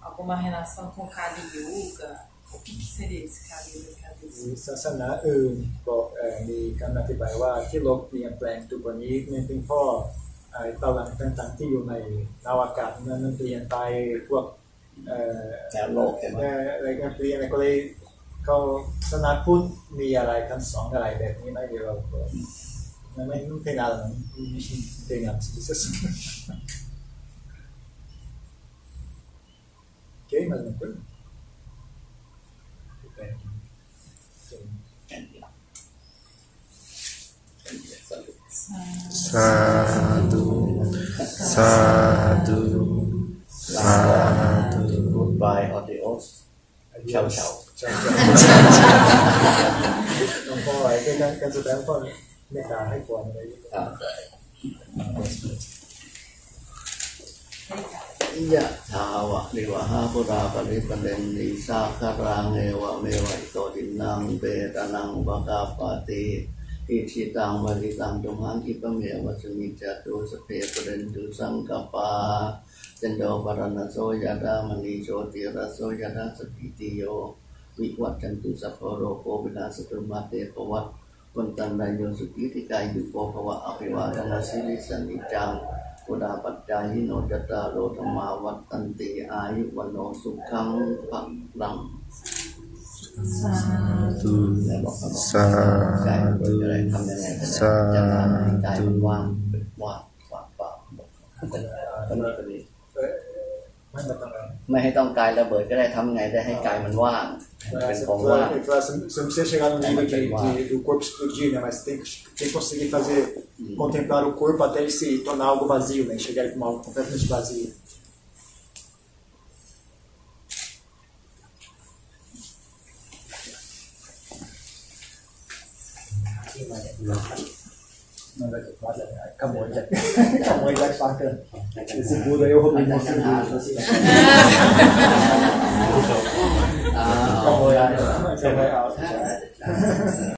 alguma relação com Kali Yuga? O que, que seria esse Kali Yuga que a Deus? มีศาสนาอื่นบอกเอ่อมีคำอธิบายว่าที่โลกเปลี่ยนแปลงทุกวันนี้มันเป็นเพราะไอ้พลังต่างๆที่อยู่ในอวกาศนั้นมันเปลี่ยนไปพวกเอ่อแนวโลกใช่ไหมเอ่ออะไรกันเปลี่ยนก็เลยเขาศาสนาพุทธมีอะไรคำสอนอะไรแบบนี้ไหมเดี๋ยวเราไม่ไม่ไม่เป็นอะไรไม่เป็นอะไรที่สุด โอเคมาเลยคุณ Sadhu, sadhu, sadhu. Goodbye, adios. Ciao, ciao. หลวงพ่อไอ้การการแสดงพ่อเมตตาให้ควรอะไรอ่า ยะถาวะนิวะหาปุราปริปเรนติสาคารังเอวะเมวะอิโตตินังเปตานังปะกาปติอิชิตังมะริตังตุมหังคิปะเมวะสมิจจตุสเพปเรนตุสังกปาจันโดปรณโสยะดามณีโชติระโสยะดาสปิติโยวิวัตจันตุสัพพโรโควินาศตุมาเตปวัตวันตันไดโยสุกิติกายุโกภวะอภิวาทนาสิริสันนิจังปุราปัจจายิโนจตารโรธรรมาวัตตันติอายุวันโนสุขังภักรัง Sadhu, และบอกเขาบอก sadhu, ใจมันจะได้ทำยังไงก็ได้จะทำให้ใจมันว่างเป็นว่างว่างเปล่าบอกเขาก็นี่ก็ดีไม่มาต้องการไม่ให้ต้องกายระเบิดก็ได้ทำไงได้ให้กายมันว่างเป็นของว่าง Você não precisa chegar no nível de, de, do corpo explodir, né? Mas tem, tem que conseguir fazer, contemplar o corpo até ele se tornar algo vazio, né? Chegar como algo completamente vazio. Não vai ter quase, acabou já. Acabou já bacana. Esse Buda aí eu roubei uma cerveja assim. Acabou já. Acabou já.